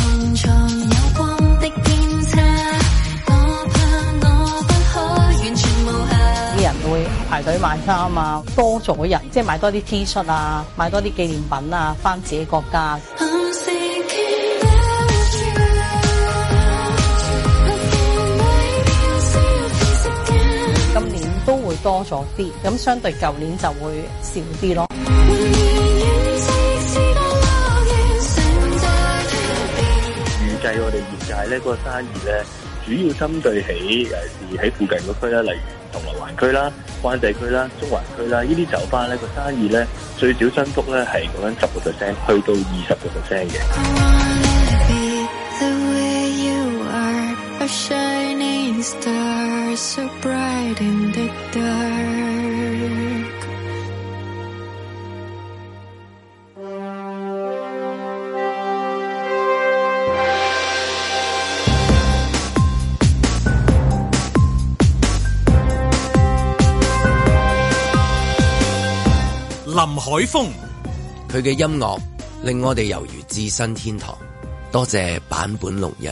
啲人會排隊買衫啊，多咗人，即係買多啲 T 恤啊，買多啲紀念品啊，返自己國家。今年都會多咗啲，咁相對舊年就會少啲咯。 預計我哋業界咧個生意咧，主要針對起喺附近嗰區啦，例如銅鑼灣區啦、灣仔區啦、中環區啦，呢啲酒吧咧個生意咧最少增幅咧係講緊10%去到20%嘅。 Shining star so bright in the dark。 林海峰， 佢嘅音樂令我哋猶如置身天堂。多謝坂本龍一。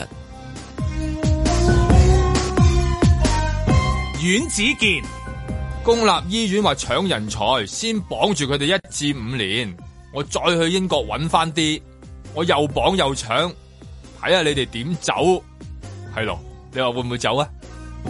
阮子健， 公立醫院話搶人才，先綁住佢哋1至5年，我再去英國揾翻啲，我又綁又搶，睇下你哋點走，係咯？你話會唔會走啊？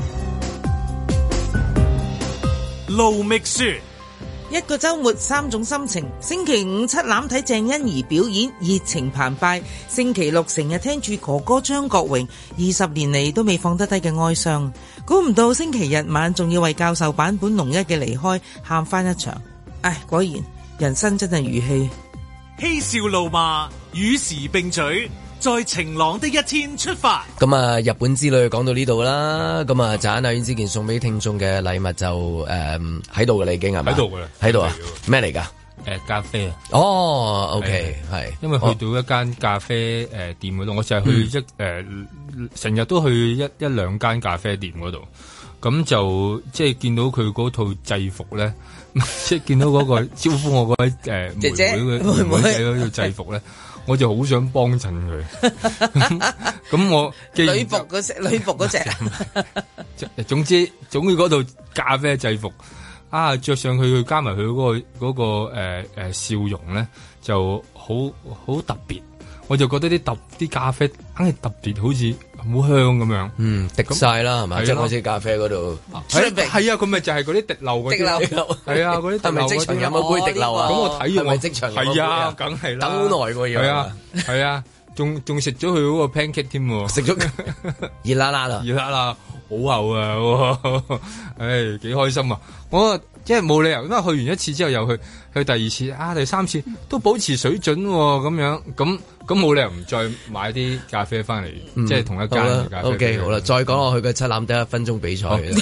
盧覓雪， 一個週末3種心情。星期五七欖睇鄭欣宜表演，熱情澎湃。星期六成日聽住哥哥張國榮20年嚟都未放得低嘅哀傷。估唔到星期日晚仲要為教授坂本龍一嘅離開喊翻一場。唉，果然人生真係如戲。 嬉笑怒罵與時並舉，在晴朗的一天出發。 咁啊，日本之旅講到呢度啦。咁啊，陣間阿阮之健送俾聽眾嘅禮物就喺度嘅啦，已經係咪？ 喺度嘅啦， 喺度啊？咩嚟㗎？ 咖啡啊。 哦 ，OK，係。 因為去到一間咖啡店嗰度，我成日去成日都去一兩間咖啡店嗰度，咁就即係見到佢嗰套制服咧，即係見到嗰個招呼我嗰位妹妹仔嗰套制服咧。我就好想幫襯佢，咁我女服嗰隻， 總之嗰套咖啡制服啊，着上去加埋佢嗰個笑容咧，就好特別。我就覺得啲咖啡硬係特別，好似好香咁樣。 滴晒啦，係咪？即係好似咖啡嗰度。 係啊，佢咪就係嗰啲滴漏嗰啲。係啊，嗰啲係咪即場飲嗰杯滴漏啊？ 咁我睇完我即場係啊，梗係啦。 等好耐喎要。 係啊，仲食咗佢嗰個 pancake 添喎。 食咗熱辣辣啦， 熱辣辣，好厚啊！唉，幾開心啊！我即係冇理由，因為去完一次之後又去第二次啊，第三次都保持水準咁樣，咁冇理由唔再買啲咖啡翻嚟，即係同一間嘅咖啡。 OK， 好啦，再講落去嘅七欖得1分鐘比賽嘅。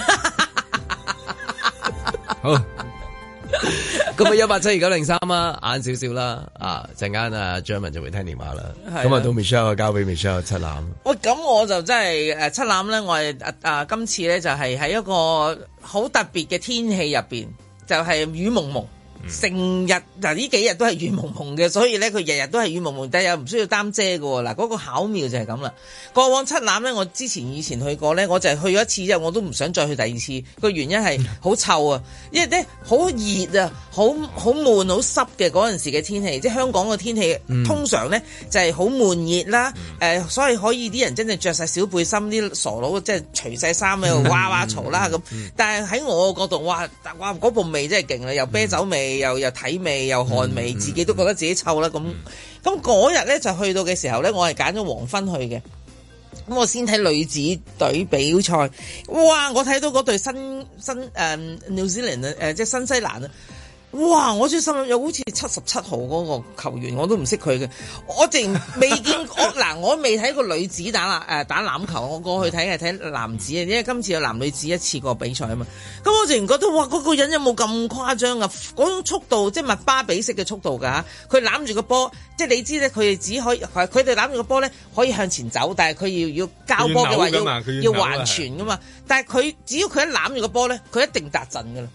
好，咁啊1872903啊，晏少少啦，陣間啊 Jeremy 就會聽電話啦。咁啊到 Michelle 交俾 Michelle 七欖。 喂，咁我就真係七欖咧，我係今次咧就係喺一個好特別嘅天氣入邊，就係雨濛濛。成日嗱呢幾日都係雨濛濛嘅，所以咧佢日日都係雨濛濛，但係又唔需要擔遮嘅喎。嗱，嗰個巧妙就係咁啦。過往七欖咧，我以前去過咧，我就係去咗一次之後，我都唔想再去第二次。個原因係好臭啊，因為咧好熱啊，好悶、好濕嘅嗰陣時嘅天氣，即係香港嘅天氣通常咧就係好悶熱啦。所以可以啲人真係着晒小背心，啲傻佬即係除晒衫喺度哇哇嘈啦咁。但係喺我角度，哇嗰部味真係勁啦，又啤酒味。又體味又汗味，自己都覺得自己臭啦咁。咁嗰日咧就去到嘅時候咧，我係揀咗黃昏去嘅。咁我先睇女子隊比賽，哇！我睇到嗰隊新New Zealand 即係新西蘭啊！哇！我最心諗又好似77號嗰個球員，我都唔識佢嘅。我淨未見我未睇過女子打籃球，我過去睇係睇男子啊，因為今次有男女子一次過比賽啊嘛。咁我淨覺得哇，嗰個人有冇咁誇張啊？嗰種速度即係麥巴比式嘅速度㗎，佢攬住個波，即係你知咧，佢哋只可以佢哋攬住個波咧可以向前走，但係佢要交波嘅話要橫傳㗎嘛。但係佢只要佢一攬住個波咧，佢一定達陣㗎啦。佢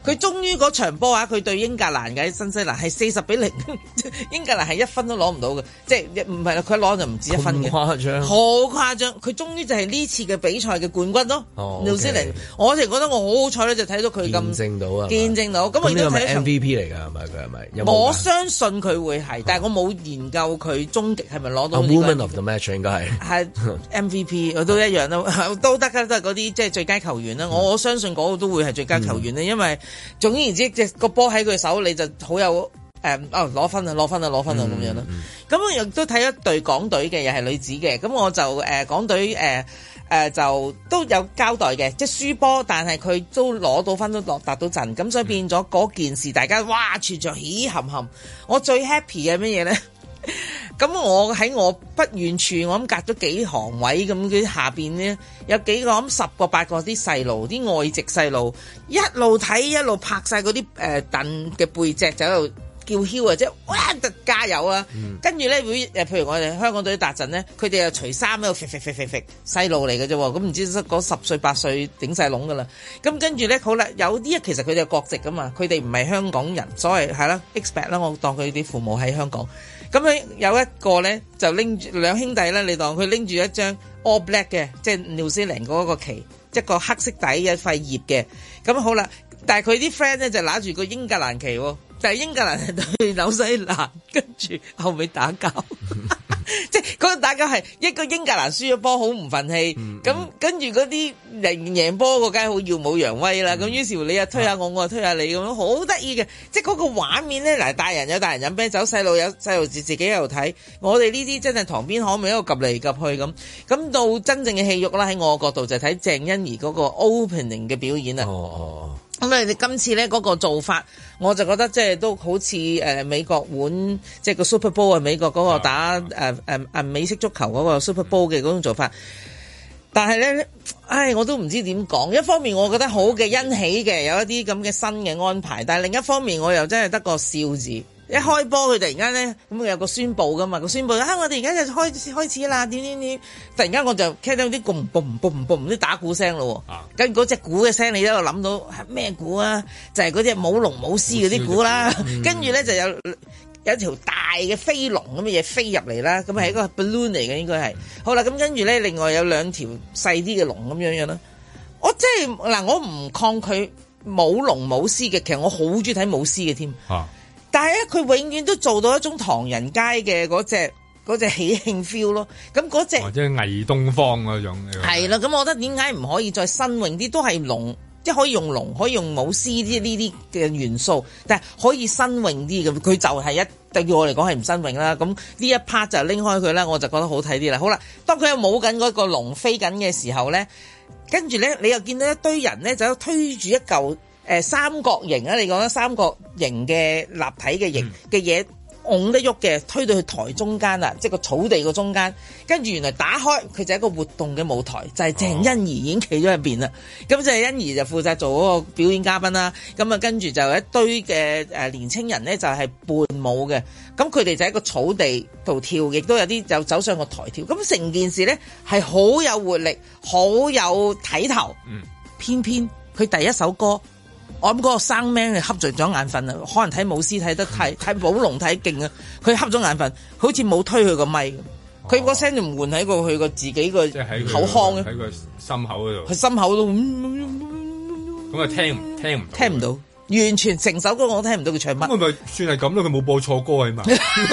佢終於嗰場波佢對英格蘭嘅新西蘭係40-0，英格蘭係1分都攞唔到嘅，即係唔係啦，佢攞就唔止1分嘅， 誇張， 好誇張。佢終於就係呢次嘅比賽嘅冠軍咯。紐西蘭，我就覺得我好好彩咧，就睇到佢咁見證到。咁我亦都睇到 MVP 嚟㗎，係咪佢係咪？ 我相信佢會係，但係我冇研究佢終極係咪攞到。 Woman of the match 應該係 MVP， 我都一樣啦，都得㗎，都係嗰啲即係最佳球員啦。我相信嗰個都會係最佳球員咧，因為總言之，隻個波喺佢手，你就好有攞分啊咁樣啦。咁我亦都睇一隊港隊嘅，又係女子嘅。咁我就港隊就都有交代嘅，即係輸波，但係佢都攞到分，都達到陣。咁所以變咗嗰件事，大家哇全場喜冚冚。我最 happy 嘅乜嘢咧？咁我喺我不遠處，我諗隔咗幾行位咁，佢下邊咧有幾個咁10個8個啲細路，啲外籍細路一路睇一路拍晒嗰啲凳嘅背脊，就喺度叫囂啊！即係哇，加油啊！跟住咧會譬如我哋香港隊達陣咧，佢哋又除衫喺度揈細路嚟嘅啫喎，咁唔知嗰10歲8歲頂晒籠噶啦。咁跟住咧好啦，有啲其實佢哋係國籍噶嘛，佢哋唔係香港人，所謂係啦 expect 啦，我當佢啲父母喺香港。咁咧有一個咧就拎住兩兄弟咧，你當佢拎住一張 all black 嘅，即係紐西蘭嗰個旗，一個黑色底嘅一塊葉嘅。咁好啦，但係佢啲 friend 咧就拿住個英格蘭旗喎，但係英格蘭係對紐西蘭，跟住後尾打交。即係嗰個打交係一個英格蘭輸咗波好唔憤氣，咁跟住嗰啲贏波個梗係好耀武揚威啦。咁於是乎你又推下我，我又推下你咁樣，好得意嘅。即係嗰個畫面咧，嗱，大人有大人飲啤酒，細路有細路自己喺度睇。我哋呢啲真係塘邊可咪喺度 𥄫 嚟 𥄫 去咁。咁到真正嘅戲肉啦，喺我角度就睇鄭欣宜嗰個 opening 嘅表演啦。咁你今次咧嗰個做法，我就覺得即係都好似美國碗，即係個 Super Bowl 美國嗰個打美式足球嗰個 Super Bowl 嘅嗰種做法。但係咧，我都唔知點講。一方面我覺得好嘅欣喜嘅，有一啲咁嘅新嘅安排，但係另一方面我又真係得個笑字。一開波佢突然間咧，咁佢有個宣佈噶嘛，個宣佈我哋而家就開始啦，點，突然間我就聽到啲嘣啲打鼓聲咯，跟住嗰隻鼓嘅聲，你喺度諗到係咩鼓啊？就係嗰隻舞龍舞獅嗰啲鼓啦，跟住咧就有一條大嘅飛龍咁嘅嘢飛入嚟啦，咁係一個 balloon 嚟嘅應該係。好啦，咁跟住咧，另外有2條細啲嘅龍咁樣啦。我真係嗱，我唔抗拒舞龍舞獅嘅，其實我好中意睇舞獅嘅添。但係咧，佢永遠都做到一種唐人街嘅嗰隻喜慶 feel 咯。咁嗰隻或者偽東方嗰種係啦。咁我覺得點解唔可以再新穎啲？都係龍，即係可以用龍，可以用舞獅啲呢啲嘅元素，但係可以新穎啲嘅。佢就係對我嚟講係唔新穎啦。咁呢一 part 就拎開佢啦，我就覺得好睇啲啦。好啦，當佢有舞緊嗰個龍飛緊嘅時候咧，跟住咧你又見到一堆人咧就推住一嚿。三角形啊！你講啦，三角形嘅立體嘅形嘅嘢，拱得喐嘅，推到去台中間啦，即係個草地個中間。跟住原來打開佢就係一個活動嘅舞台，就係鄭欣宜已經企咗入邊啦。咁就係欣宜就負責做嗰個表演嘉賓啦。咁啊，跟住就有一堆嘅年青人咧，就係伴舞嘅。咁佢哋就喺個草地度跳，亦都有啲就走上個台跳。咁成件事咧係好有活力，好有睇頭。偏偏佢第一首歌。我諗嗰個生 man 係瞌着咗眼瞓啊，可能睇舞獅睇得睇舞龍睇勁啊，佢瞌咗眼瞓，好似冇推佢個咪，佢個聲就唔換喺佢個自己個口腔啊， 喺個心口嗰度， 佢心口都咁啊聽唔到， 完全成首歌我都聽唔到佢唱乜。 咁咪算係咁咯，佢冇播錯歌啊嘛，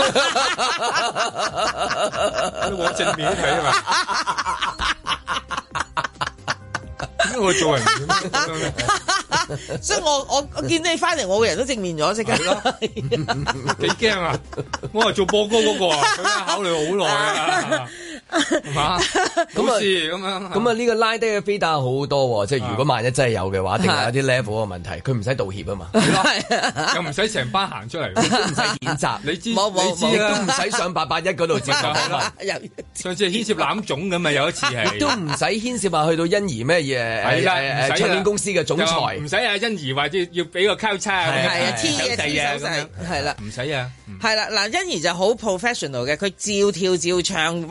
你往正面睇啊嘛。我做人點咁樣嘅？ 所以我見到你翻嚟，我個人都正面咗，即刻。 幾驚啊！我係做播歌嗰個啊，佢考慮好耐啊，係嘛？咁事咁樣。 咁啊，呢個拉低嘅飛打好多，即係如果萬一真係有嘅話，一定係有啲 level 嘅問題，佢唔使道歉啊嘛， 又唔使成班行出嚟， 都唔使譴責，你知都唔使上881嗰度接受。 上次牽涉攬總咁啊，有一次係。 都唔使牽涉話去到欣宜咩嘢？係啦，唱片公司嘅總裁唔使啊，欣宜話要俾個交叉， 係啊，T 嘅 T 手勢，係啦， 唔使啊， 係啦，嗱，欣宜就好 professional 嘅，佢照跳照唱，哇，嗰種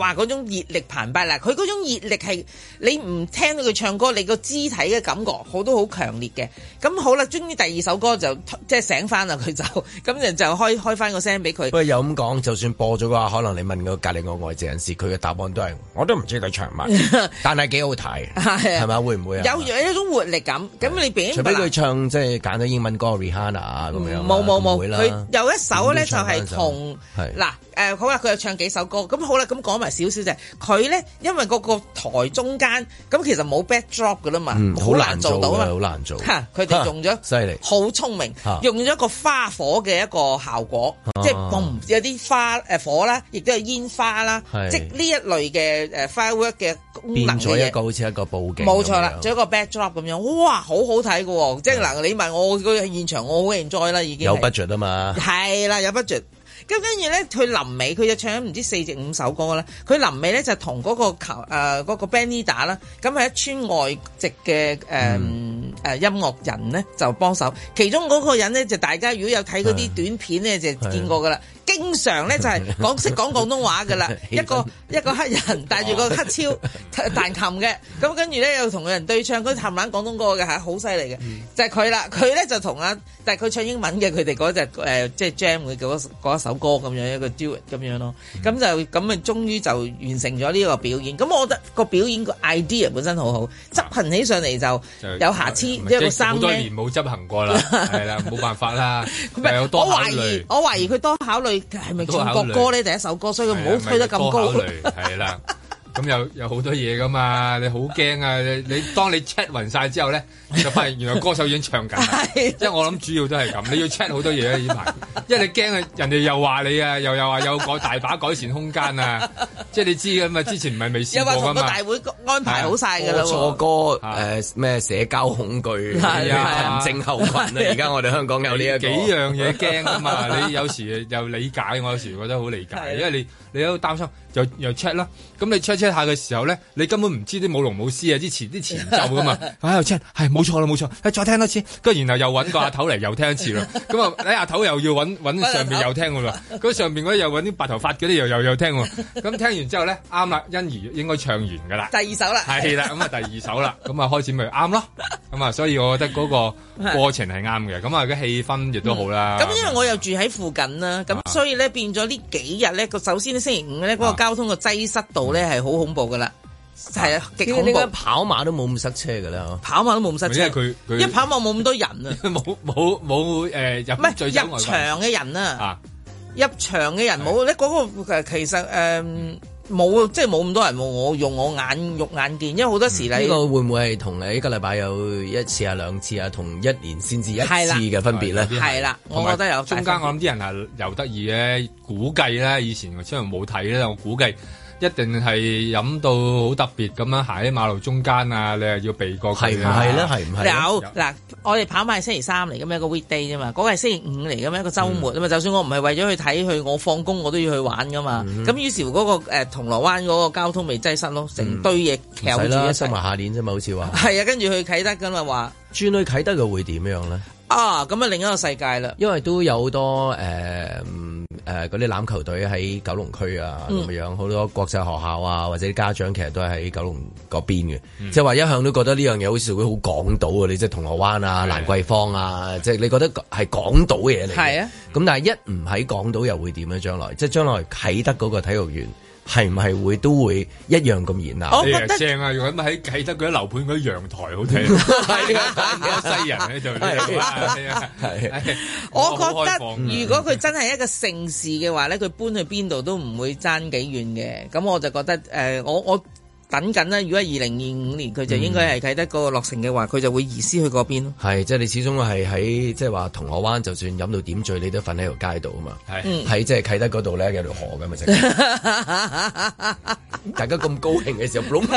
熱力澎湃啦。佢嗰種熱力係你唔聽到佢唱歌，你個肢體嘅感覺都好強烈嘅。咁好啦，終於第二首歌就即係醒翻啦，佢就咁就開翻個聲俾佢。 不過有咁講，就算播咗嘅話，可能你問個隔離個外籍人士，佢嘅答案都係我都唔知佢唱乜，但係幾好睇，係咪？會唔會啊？ 有一種活力感。咁你除非佢唱即係揀咗英文歌 Rihanna 啊咁樣， 冇，佢有一首咧就係同嗱。好啦，佢又唱幾首歌，咁好啦，咁講埋少少啫。佢咧，因為嗰個台中間，咁其實冇 backdrop 噶啦嘛，好難做到啊， 好難做。 佢哋用咗， 犀利， 好聰明，用咗一個花火嘅一個效果，即係嘣有啲花火啦，亦都有煙花啦，即係呢一類嘅firework 嘅功能嘅嘢。變咗一個好似一個佈景。冇錯啦，做一個 backdrop 咁樣，哇，好好睇㗎喎！即係嗱，你問我個現場，我好 enjoy 啦，已經有 budget 啊嘛。係啦，有 budget。咁跟住咧，佢臨尾佢就唱咗唔知4至5首歌啦。佢臨尾咧就同嗰個 band leader 啦，咁係一村外籍嘅音樂人咧就幫手。其中嗰個人咧就大家如果有睇嗰啲短片咧就見過噶啦。經常咧就係識講廣東話噶啦，一個黑人帶住個黑超彈琴嘅，咁跟住咧又同人對唱，佢冚唪唥廣東歌嘅係好犀利嘅，就係佢啦。佢咧就同但係佢唱英文嘅，佢哋嗰隻即係 jam 嘅嗰一首歌咁樣一個 duet 咁樣咯。咁就咁啊，終於就完成咗呢個表演。咁我覺得個表演個 idea 本身好好，執行起上嚟就有瑕疵，一個3 好多年冇執行過啦，係啦，冇辦法啦。有多考慮， 我懷疑佢多考慮。係咪唱國歌咧？第一首歌，所以佢唔好推得咁高。 係啦，咁有好多嘢噶嘛，你好驚啊！你當你 check 勻晒之後咧，就發現原來歌手已經唱緊。即係我諗主要都係咁，你要 check 好多嘢啊！呢排，因為你驚啊，人哋又話你啊，又話有大把改善空間啊！即係你知噶嘛，之前唔係未試過噶嘛。 又話同個大會安排好晒㗎啦。 錯歌咩社交恐懼、人症候群啊！而家我哋香港有呢一幾樣嘢驚噶嘛，你有時又理解，我有時覺得好理解，因為你都擔心，又 check 啦。咁你 check 下嘅時候咧，你根本唔知啲舞龍舞獅啊，啲前奏噶嘛。喺度 check 係冇錯啦，冇錯。再聽多次，跟住然後又揾個阿頭嚟又聽一次啦。咁啊，你阿頭又要揾上邊又聽㗎啦。咁上邊嗰啲又揾啲白頭髮嗰啲又聽喎。咁聽完之後咧，啱啦，欣宜應該唱完㗎啦。 第二首啦。 係啦，咁啊第二首啦，咁啊開始咪啱咯。咁啊，所以我覺得嗰個過程係啱嘅。咁啊，個氣氛亦都好啦。 咁因為我又住喺附近啦，咁所以咧變咗呢幾日咧，首先星期五咧嗰個交通個擠塞度咧係好恐怖噶啦，係啊，極恐怖。 跑馬都冇咁塞車噶啦， 跑馬都冇咁塞車， 因為佢一跑馬冇咁多人啊， 冇入場嘅人啊，入場嘅人冇咧，嗰個其實冇，即係冇咁多人喎。我用我肉眼見，因為好多時你呢個會唔會係同你一個禮拜有1次啊、2次啊，同1年先至1次嘅分別咧？ 係啦，我覺得有中間我諗啲人係又得意嘅，估計咧以前雖然冇睇咧，我估計一定係飲到好特別咁樣行喺馬路中間啊！你係要避過佢， 係唔係咧？係唔係？ 有嗱，我哋跑馬係星期3嚟嘅咩？一個 weekday 啫嘛，嗰個係星期5嚟嘅咩？一個週末啊嘛。就算我唔係為咗去睇佢，我放工我都要去玩噶嘛。咁於是乎嗰個銅鑼灣嗰個交通咪擠塞咯，成堆嘢翹住一齊。 收埋下年啫嘛，好似話。 係啊，跟住去啟德噶嘛話。 轉去啟德嘅會點樣咧？ 咁啊另一個世界啦。 因為都有好多嗰啲欖球隊喺九龍區啊咁樣，好多國際學校啊或者啲家長其實都係喺九龍嗰邊嘅，即係話一向都覺得呢樣嘢好似會好港島啊！你即係銅鑼灣啊、蘭桂坊啊，即係你覺得係港島嘅嘢嚟。係啊，咁但係一唔喺港島又會點咧？將來即係將來啟德嗰個體育園。係唔係都會一樣咁熱鬧？ 我覺得正啊！如果喺啟德嗰啲樓盤嗰啲陽台好睇，係啊，西人喺度。係我覺得如果佢真係一個盛事嘅話咧，佢搬去邊度都唔會爭幾遠嘅。咁我就覺得我等緊啦。如果係2025年，佢就應該係啟德嗰個落成嘅話，佢就會移師去嗰邊咯。係， 即係你始終係喺即係話銅鑼灣，就算飲到點醉，你都瞓喺條街度啊嘛。係，喺即係啟德嗰度咧，有條河咁啊，大家咁高興嘅時候，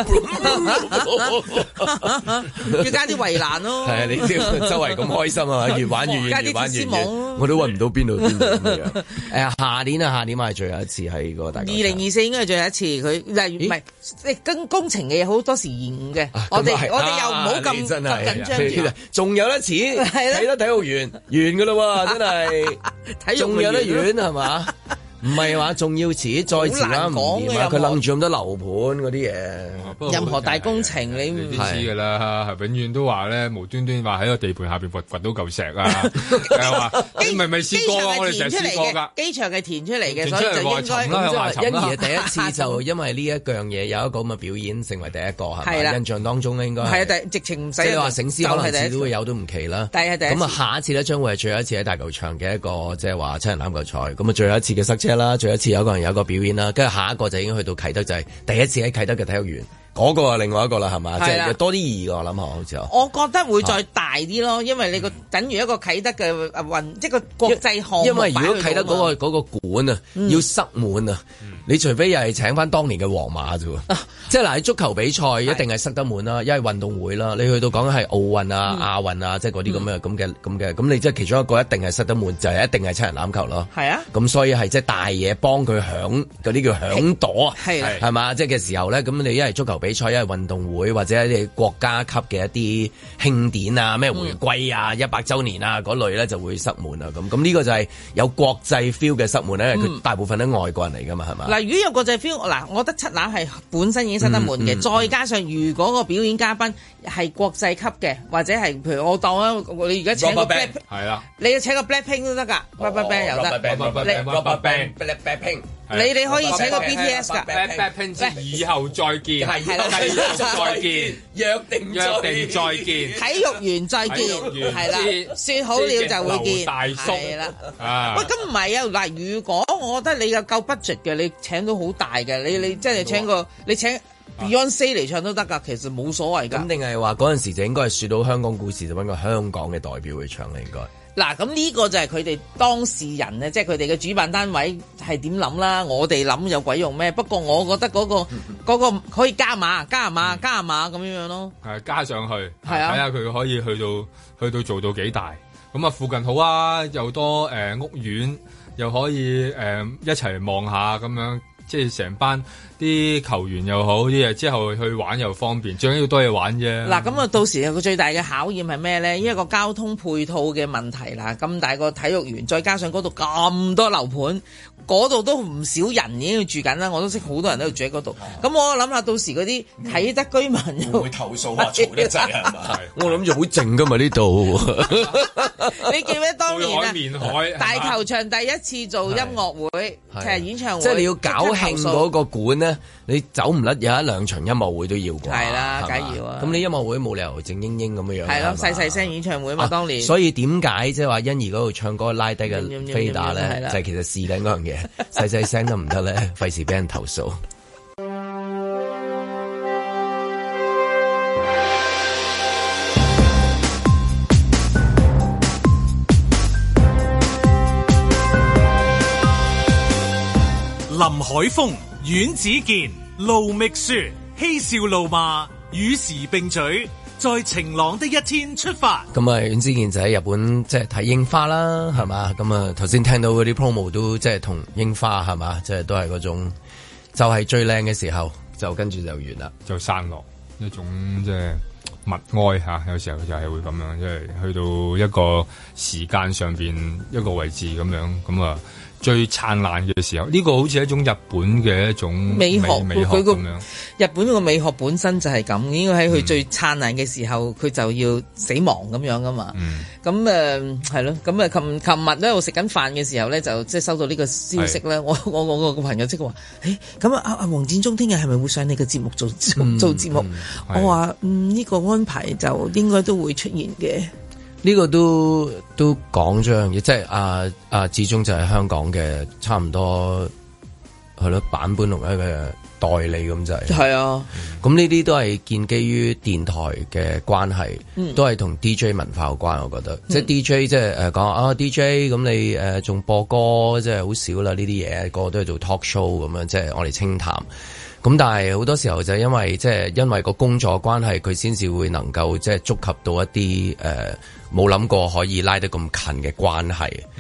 要加啲圍欄咯。 係啊，你知周圍咁開心啊，越玩越遠，越玩越遠。我都揾唔到邊度邊度咁樣。下年係最後一次喺個大。 2024應該係最後一次，佢例如唔係工程嘅嘢好多時延誤嘅，我哋又唔好咁緊張。 仲有得錢，睇得體育園完噶啦喎，真係仲有得遠係嘛？ 唔係話仲要遲，再遲啦唔掂啊！佢楞住咁多樓盤嗰啲嘢， 任何大工程你唔知㗎啦，永遠都話咧無端端話喺個地盤下邊掘到嚿石啊！係話你咪試過啊？我哋成日試過㗎。 機場係填出嚟嘅，所以就應該欣宜第一次就因為呢一樣嘢有一個咁嘅表演，成為第一個係咪？印象當中咧應該係啊，直情唔使即係話醒獅可能次都會有都唔奇啦。咁啊，下一次咧將會係最後一次喺大球場嘅一個即係話七人欖球賽。咁啊，最後一次嘅塞車啦，最後一次有個人有個表演啦，跟住下一個就已經去到啟德，就係第一次喺啟德嘅體育園。嗰個係另外一個啦，係嘛？即係多啲意義㗎，我諗下好似我覺得會再大啲咯，因為你個等於一個啟德嘅運，即係個國際項目。 因為如果啟德嗰個館啊，要塞滿啊，你除非又係請翻當年嘅皇馬啫喎。即係嗱，喺足球比賽一定係塞得滿啦，因為運動會啦，你去到講緊係奧運啊、亞運啊，即係嗰啲咁嘅，咁你即係其中一個一定係塞得滿，就係一定係七人欖球咯。係啊，咁所以係即係大嘢幫佢響嗰啲叫響朵，係嘛？即係嘅時候咧，咁你一係足球比賽，一係運動會或者一啲國家級嘅一啲慶典啊，咩回歸啊、100週年啊嗰類咧就會塞滿啊。咁呢個就係有國際 feel 嘅塞滿咧，因為佢大部分都外國人嚟噶嘛，係嘛？嗱， 如果有國際 feel，嗱，我覺得七欖係本身已經塞得滿嘅，再加上如果個表演嘉賓係國際級嘅，或者係譬如我當啊，你而家請個 Black 係啦，你要請個 Blackpink 都得㗎，Rubberband 又得，Rubberband，你可以請個 BTS 㗎 ，Blackpink 以後再見，係啦，再見，約定再見， 體育園再見，係啦，説好了就會見，係啦，喂，咁唔係啊，嗱，如果我覺得你有夠 budget 嘅，你請到好大嘅，你即係請Beyonce 嚟唱都得㗎，其實冇所謂㗎。 咁定係話嗰陣時就應該係説到香港故事，就揾個香港嘅代表去唱啦，應該。 嗱，咁呢個就係佢哋當事人咧，即係佢哋嘅主辦單位係點諗啦。我哋諗有鬼用咩？不過我覺得嗰個可以加碼咁樣咯。 係加上去，係啊，睇下佢可以去到做到幾大。咁啊，附近好啊，又多屋苑，又可以一齊望下咁樣。即係成班啲球員又好啲嘢，之後去玩又方便，最緊要多嘢玩啫。 嗱，咁啊，到時有個最大嘅考驗係咩咧？因為個交通配套嘅問題啦，咁大個體育園，再加上嗰度咁多樓盤，嗰度都唔少人已經住緊啦。我都識好多人都住喺嗰度。咁我諗下，到時嗰啲啟德居民又會投訴話嘈得滯係嘛？我諗住好靜㗎嘛呢度。 你記唔記得當年啊？大球場第一次做音樂會，其實演唱會， 即係你要搞興嗰個館咧，你走唔甩有一兩場音樂會都要啩？係啦，梗要啊！ 咁你音樂會冇理由靜英英咁樣樣。 係咯，細聲演唱會嘛，當年。 所以點解即係話欣宜嗰度唱歌拉低嘅飛打咧，就係其實試緊嗰樣嘢，細聲得唔得咧？費事俾人投訴。 林海峰、阮子健、盧覓雪，嬉笑怒罵，與時並舉，在晴朗的一天出發。 咁啊，阮子健就喺日本即係睇櫻花啦，係嘛？咁啊，頭先聽到嗰啲 promo 都即係同櫻花係嘛？即係都係嗰種，就係最靚嘅時候，就跟住就完啦， 就散落一種即係默哀嚇。有時候就係會咁樣，即係去到一個時間上邊一個位置咁樣，咁啊。最燦爛嘅時候，呢個好似一種日本嘅一種美學咁樣。 日本個美學本身就係咁，應該喺佢最燦爛嘅時候，佢就要死亡咁樣噶嘛。咁係咯，咁啊，琴日咧我食緊飯嘅時候咧，就即係收到呢個消息咧。我個朋友即係話，咁啊阿黃展忠聽日係咪會上你嘅節目做節目？我話呢個安排就應該都會出現嘅。 呢個都講咗樣嘢，即係志忠就係香港嘅差唔多係咯版本龍一嘅代理咁就係。係啊，咁呢啲都係建基於電台嘅關係，都係同 DJ 文化有關。我覺得，即係 DJ 即係講DJ 咁你仲播歌即係好少啦呢啲嘢，個個都係做 talk show 咁樣，即係我哋清談。咁但係好多時候就因為個工作關係，佢先至會能夠即係觸及到一啲冇諗過可以拉得咁近嘅關係。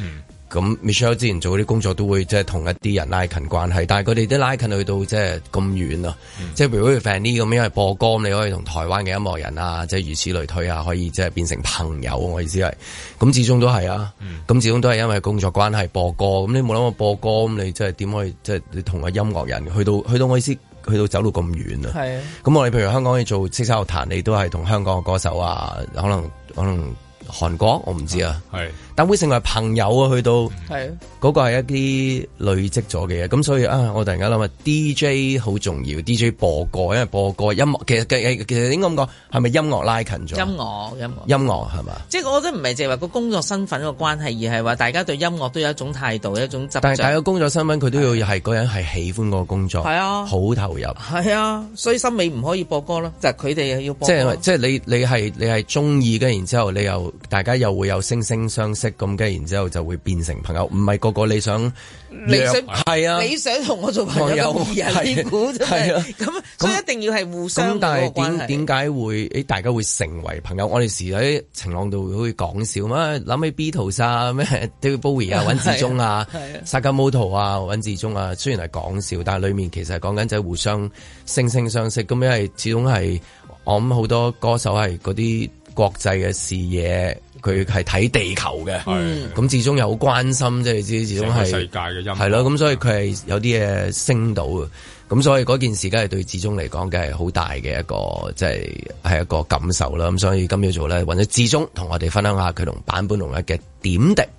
咁 Michelle 之前做嗰啲工作都會即係同一啲人拉近關係，但係佢哋都拉近去到即係咁遠啊！即係譬如好似 Fanny 咁，因為播歌你可以同台灣嘅音樂人啊，即係如此類推啊，可以即係變成朋友。我意思係，咁始終都係啊，咁始終都係因為工作關係播歌。咁你冇諗過播歌，咁你即係點可以即係你同個音樂人去到我意思去到走到咁遠啊？係啊！咁我哋譬如香港可以做叱咤樂壇，你都係同香港嘅歌手啊，可能韓國我唔知啊，但會成為朋友啊，去到嗰個係一啲累積咗嘅嘢，咁所以啊，我突然間諗啊 DJ 好重要 ，DJ 播歌，因為播歌音樂其實應該咁講，係咪音樂拉近咗？音樂係嘛？即係我覺得唔係淨係話個工作身份個關係，而係話大家對音樂都有一種態度，一種執着。但係大家工作身份佢都要係嗰人係喜歡個工作，係啊，好投入，係啊，所以森美唔可以播歌咯，就係佢哋要播歌。即係你係中意嘅，然之後你又大家又會有惺惺相惜。咁嘅，然之後就會變成朋友，唔係個個你想係啊，你想同我做朋友咁易啊？呢股真係咁，所以一定要係互相嗰個關係。但係點解會大家會成為朋友？我哋時喺晴朗度會講笑嘛，諗起 Beatles 啊，咩 David Bowie 啊，尹志忠啊，Sakamoto 啊，尹志忠啊，雖然係講笑，但係裡面其實係講緊就係互相惺惺相惜。咁因為始終係我諗好多歌手係嗰啲國際嘅視野。佢係睇地球嘅，咁始終又好關心，即係你知，始終係世界嘅音樂係咯，咁所以佢係有啲嘢升到嘅，咁所以嗰件事梗係對志忠嚟講嘅係好大嘅一個，即係一個感受啦。咁所以今朝早咧，揾咗志忠同我哋分享下佢同坂本龍一嘅點滴。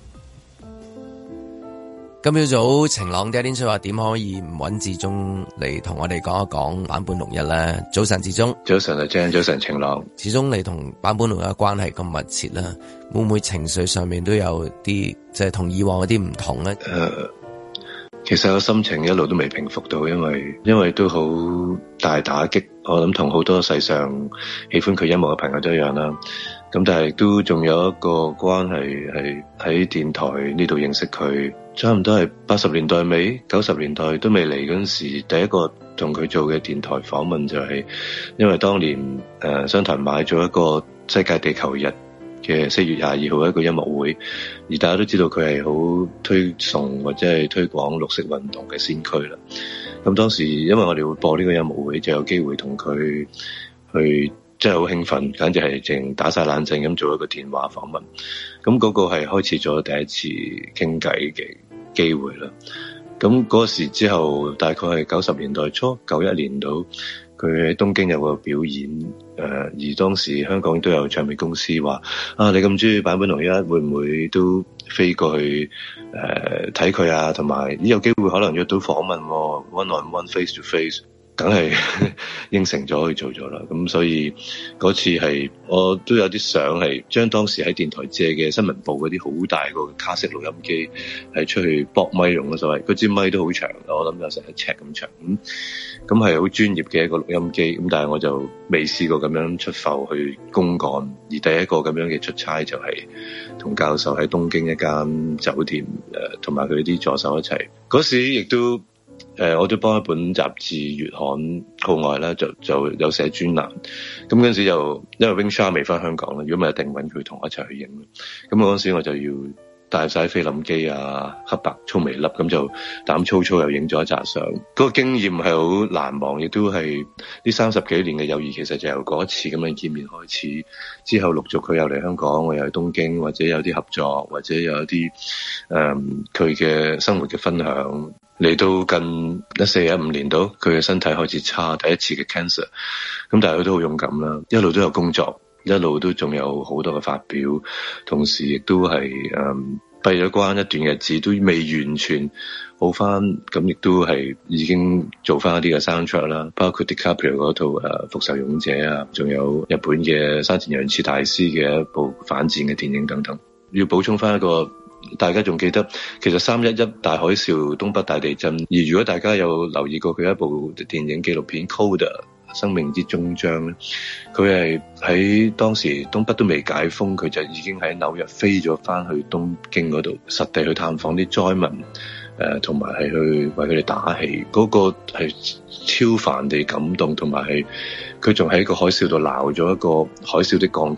今朝早晴朗嘅一天，所以話點可以唔揾志忠嚟同我哋講一講坂本龍一咧？早晨，志忠。早晨啊 Jan， 早晨晴朗。志忠，你同坂本龍一嘅關係咁密切啦，會唔會情緒上面都有啲即係同以往有啲唔同咧？ 其實個心情一路都未平復到，因為都好大打擊。我諗同好多世上喜歡佢音樂嘅朋友都一樣啦。咁但係都仲有一個關係係喺電台呢度認識佢，差唔多係80年代尾90年代都未嚟嗰陣時，第一個同佢做嘅電台訪問就係因為當年商台買咗一個世界地球日嘅4月22號一個音樂會，而大家都知道佢係好推崇或者係推廣綠色運動嘅先驅啦。咁當時因為我哋會播呢個音樂會，就有機會同佢去。真係好興奮，簡直係淨打晒冷震咁做一個電話訪問。咁嗰個係開始咗第一次傾偈嘅機會啦。咁嗰時之後，大概係90年代初91年度，佢喺東京有個表演。而當時香港都有唱片公司話：啊，你咁中意坂本龍一，會唔會都飛過去睇佢啊？同埋有機會可能約到訪問，one on one face to face。梗係應承咗去做咗啦，咁所以嗰次係我都有啲相係將當時喺電台借嘅新聞部嗰啲好大個卡式錄音機係出去駁咪用咯，所謂嗰支咪都好長，我諗有成1尺咁長，咁係好專業嘅一個錄音機，咁但係我就未試過咁樣出埠去公幹，而第一個咁樣嘅出差就係同教授喺東京一間酒店同埋佢啲助手一齊，嗰時亦都。我都幫一本雜誌月刊號外啦，就有寫專欄。咁嗰陣時就因為 Wing Sha 未翻香港啦，如果唔係一定揾佢同我一齊去影。咁嗰陣時我就要帶晒菲林機啊，黑白粗微粒，咁就膽粗粗又影咗一紮相。嗰個經驗係好難忘，亦都係呢30幾年嘅友誼，其實就由嗰一次咁樣見面開始。之後陸續佢又嚟香港，我又去東京，或者有啲合作，或者有一啲佢嘅生活嘅分享。嚟到近14-15年度，佢嘅身體開始差，第一次嘅 cancer。咁但係佢都好勇敢啦，一路都有工作，一路都仲有好多嘅發表，同時亦都係閉咗關一段日子，都未完全好翻。咁亦都係已經做翻一啲嘅 soundtrack 啦，包括 DiCaprio 嗰套復仇勇者啊，仲有日本嘅山田洋次大師嘅一部反戰嘅電影等等。要補充翻一個。大家仲記得，其實311大海嘯、東北大地震。而如果大家有留意過佢一部電影紀錄片《Coda 生命之終章》咧，佢係喺當時東北都未解封，佢就已經喺紐約飛咗翻去東京嗰度，實地去探訪啲災民，同埋係去為佢哋打氣。嗰個係超凡地感動，同埋係佢仲喺個海嘯度撈咗一個海嘯的鋼琴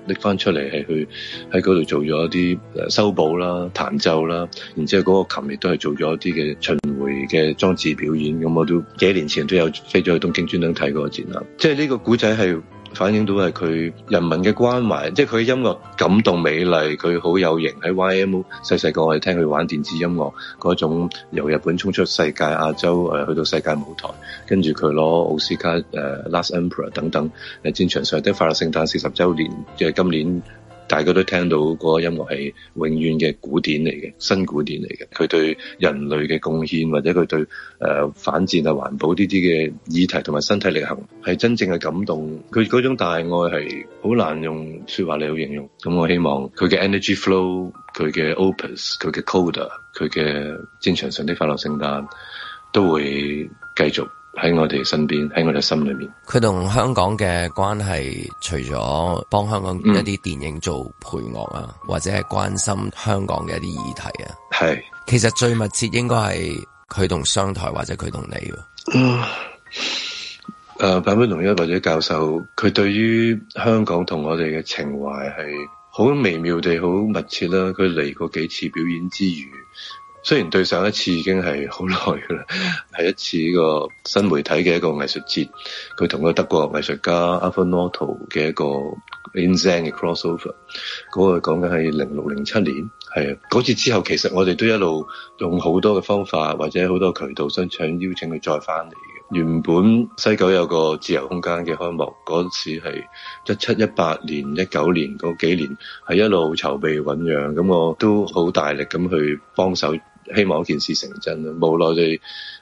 拎翻出嚟係去喺嗰度做咗一啲修補啦、彈奏啦，然之後嗰個琴亦都係做咗一啲嘅巡迴嘅裝置表演。咁我都幾年前都有飛咗去東京專登睇嗰個展覽。即係呢個古仔係反映到係佢人民嘅關懷，即係佢音樂感動美麗，佢好有型。喺 YMO 細個我哋聽佢玩電子音樂嗰種由日本衝出世界亞洲去到世界舞台，跟住佢攞奧斯卡Last Emperor 等等戰場上的快樂聖誕40週年，即係今年大家都聽到嗰個音樂係永遠嘅古典嚟嘅，新古典嚟嘅。佢對人類嘅貢獻，或者佢對反戰啊、環保呢啲嘅議題同埋身體力行，係真正嘅感動。佢嗰種大愛係好難用說話嚟去形容。咁我希望佢嘅 Energy Flow、佢嘅 Opus、佢嘅 Coda、佢嘅戰場上的快樂聖誕都會繼續喺我哋身邊，喺我哋心裏面。 佢同香港嘅關係，除咗幫香港一啲電影做配樂啊，或者係關心香港嘅一啲議題啊， 係其實最密切應該係佢同商台或者佢同你。 坂本龍一或者教授，佢對於香港同我哋嘅情懷係好微妙地好密切啦。佢嚟過幾次表演之餘，雖然對上一次已經係好耐㗎啦，係一次呢個新媒體嘅一個藝術節，佢同個德國藝術家 Arthur Noto 嘅一個 In Zen 嘅 crossover， 嗰個講緊係06-07年，係啊，嗰次之後其實我哋都一路用好多嘅方法或者好多渠道想邀請佢再翻嚟嘅。原本西九有個自由空間嘅開幕，嗰時係17、18年、19年嗰幾年係一路籌備醞釀，咁我都好大力咁去幫手，希望件事成真啦。無奈地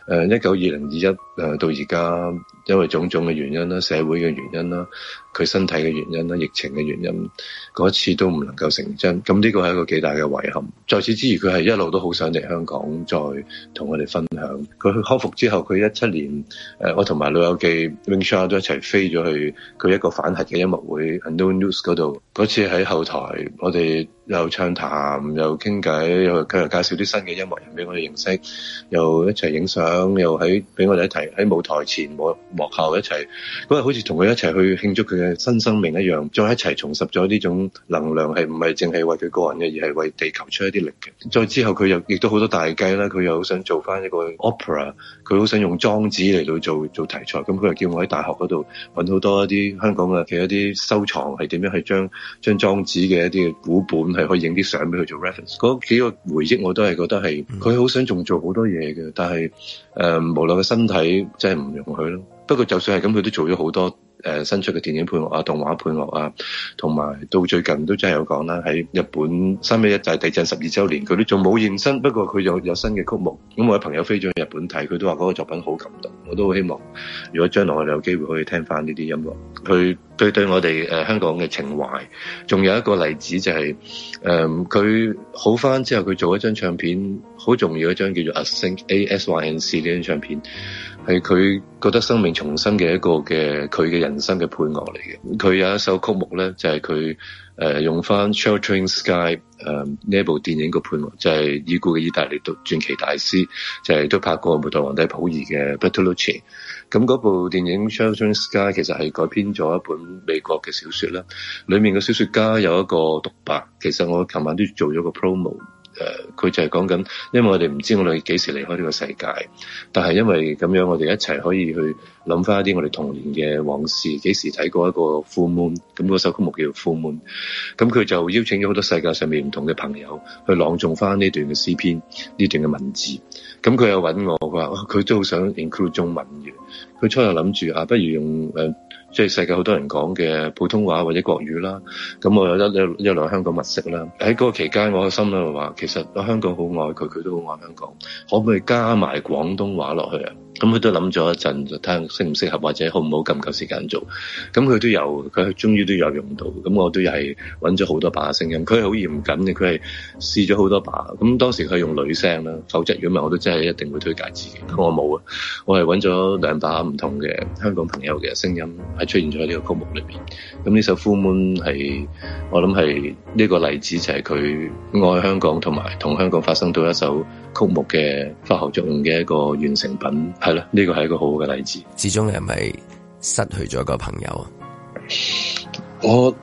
19、20、21到而家，因為種種嘅原因啦、社會嘅原因啦、佢身體嘅原因啦、疫情嘅原因，嗰次都唔能夠成真。咁呢個係一個幾大嘅遺憾。在此之餘，佢係一路都好想嚟香港再同我哋分享。佢去康復之後，佢17年我同埋老友記 Wing Sha 都一齊飛咗去佢一個反核嘅音樂會 Unknown News 嗰度。嗰次喺後台，我哋又暢談又傾偈，佢又介紹啲新嘅音樂人俾我哋認識，又一齊影相，又俾我哋一齊喺舞台前幕後一齊嗰日，好似同佢一齊去慶祝佢嘅新生命一樣，再一齊重拾咗呢種能量，係唔係淨係為佢個人嘅，而係為地球出一啲力嘅。再之後佢又亦都好多大計啦，佢又好想做翻一個 opera， 佢好想用莊子嚟到做題材，咁佢又叫我喺大學嗰度揾好多一啲香港嘅一啲收藏，係點樣去將莊子嘅一啲嘅古本係可以影啲相俾佢做 reference。嗰幾個回憶我都係覺得係佢好想仲做好多嘢嘅，但係無奈嘅身體真係唔容許咯。不過就算係咁，佢都做咗好多新出嘅電影配樂啊、動畫配樂啊，同埋到最近都真係有講啦，喺日本311大地震12週年，佢都仲冇現身，不過佢有新嘅曲目。咁我有朋友飛咗去日本睇，佢都話嗰個作品好感動。我都好希望，如果將來我哋有機會可以聽翻呢啲音樂，佢對我哋香港嘅情懷。仲有一個例子就係佢好翻之後，佢做一張唱片，好重要一張叫做 ASYNC 呢張唱片。係佢覺得生命重生嘅一個嘅佢嘅人生嘅配樂嚟嘅。佢有一首曲目咧，就係佢用翻 Sheltering Sky 呢一部電影個配樂，就係已故嘅意大利傳奇大師，就係都拍過《末代皇帝溥儀》嘅 Bertolucci。咁嗰部電影 Sheltering Sky 其實係改編咗一本美國嘅小說啦，裡面嘅小說家有一個獨白，其實我琴晚都做咗個 promo。佢就係講緊，因為我哋唔知我哋幾時離開呢個世界，但係因為咁樣，我哋一齊可以去諗翻一啲我哋童年嘅往事，幾時睇過一個 Full Moon， 咁嗰首曲目叫做 Full Moon， 咁佢就邀請咗好多世界上面唔同嘅朋友去朗誦翻呢段嘅詩篇，呢段嘅文字，咁佢又揾我，佢話佢都好想 include 中文嘅，佢初又諗住不如用即係世界好多人講嘅普通話或者國語啦，咁我有一兩香港特色啦。喺嗰個期間，我個心咧話，其實香港好愛佢，佢都好愛香港，可唔可以加埋廣東話落去啊？咁佢都諗咗一陣，就睇下適唔適合，或者好唔好咁夠時間做。咁佢終於都有用到。咁我都係揾咗好多把聲音。佢係好嚴謹嘅，佢係試咗好多把。咁當時佢係用女聲啦，否則如果唔係我都真係一定會推介自己。我冇啊，我係揾咗兩把唔同嘅香港朋友嘅聲音，係出現咗喺呢個曲目裏邊。咁呢首 Full Moon 係我諗係呢個例子，就係佢愛香港同埋同香港發生到一首曲目嘅化學作用嘅一個完成品。係啦，呢個係一個好好嘅例子。 始終係咪失去咗一個朋友啊？ 我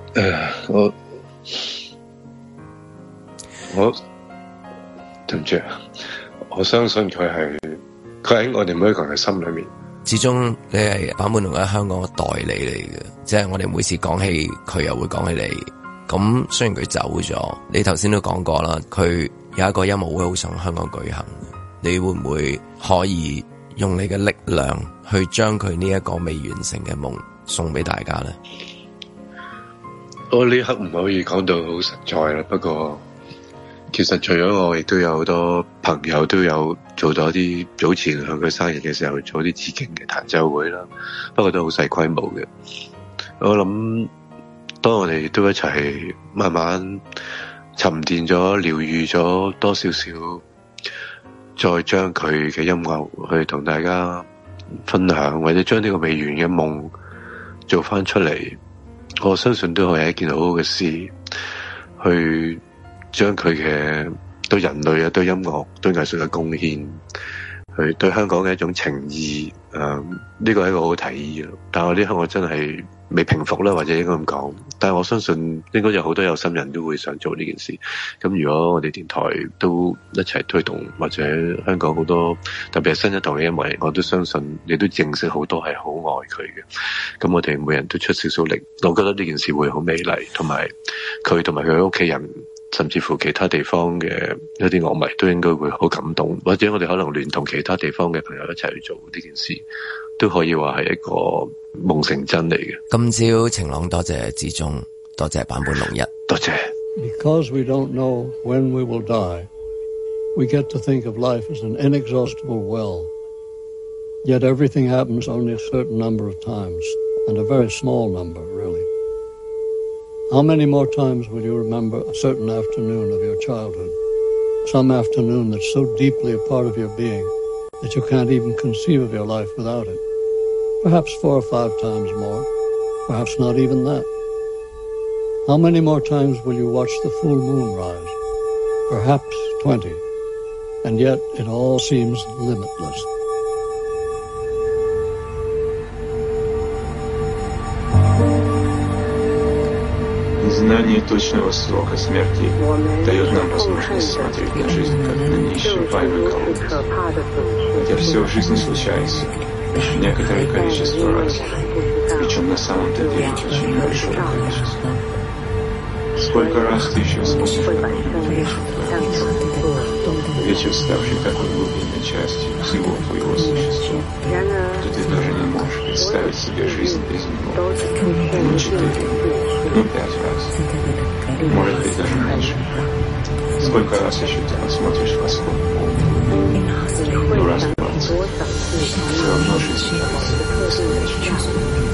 我對唔住，我相信佢喺我哋每一個人嘅心裏面。 始終你係版本龍一香港嘅代理嚟嘅，即係我哋每次講起佢又會講起你。咁雖然佢走咗，你頭先都講過啦，佢有一個音樂會好想香港舉行，你會唔會可以用你嘅力量去將佢呢一個未完成嘅夢送俾大家呢？ 我呢刻唔可以講到好實在啦，不過其實除咗我，亦都有好多朋友都有做咗啲早前向佢生日嘅時候做啲致敬嘅彈奏會啦，不過都好細規模嘅。我諗當我哋都一齊慢慢沉澱咗、療癒咗多少少，再將佢嘅音樂去同大家分享，或者將呢個未完嘅夢做翻出嚟，我相信都係一件好好嘅事，去將佢嘅對人類啊、對音樂、對藝術嘅貢獻，去對香港嘅一種情意，呢個係一個好提議咯。但係我呢刻我真係未平復啦，或者應該咁講。但係我相信應該有好多有心人都會想做呢件事。咁如果我哋電台都一齊推動，或者香港好多特別係新一代嘅音樂人，我都相信你都認識好多係好愛佢嘅。咁我哋每人都出少少力，我覺得呢件事會好美麗，同埋佢同埋佢屋企人，甚至乎其他地方嘅一啲樂迷都應該會好感動，或者我哋可能聯同其他地方嘅朋友一齊去做呢件事，都可以話係一個夢成真嚟嘅。 今朝晴朗，多謝志忠，多謝坂本龍一， 多謝。 Because we don't know when we will die, we get to think of life as an inexhaustible well. Yet everything happens only a certain number of times, and a very small number, really. How many more times will you remember a certain afternoon of your childhood? Some afternoon that's so deeply a part of your being that you can't even conceive of your life without it. Perhaps 4 or 5 times more. Perhaps not even that. How many more times will you watch the full moon rise? Perhaps 20. And yet it all seems limitless. Знание точного срока смерти дает нам возможность смотреть на жизнь как на неисчерпаемый колодец. Хотя все в жизни случается некоторое количество раз, причем на самом-то деле очень большое количество. Сколько раз ты еще сможешь увидеть вечер, ставший такой глубинной частью всего твоего существа, что ты даже не можешь представить себе жизнь без него. 4, 5 раз. Может быть, даже меньше. Сколько раз еще ты посмотришь восход? Раз 20. Все равно жизнь остается.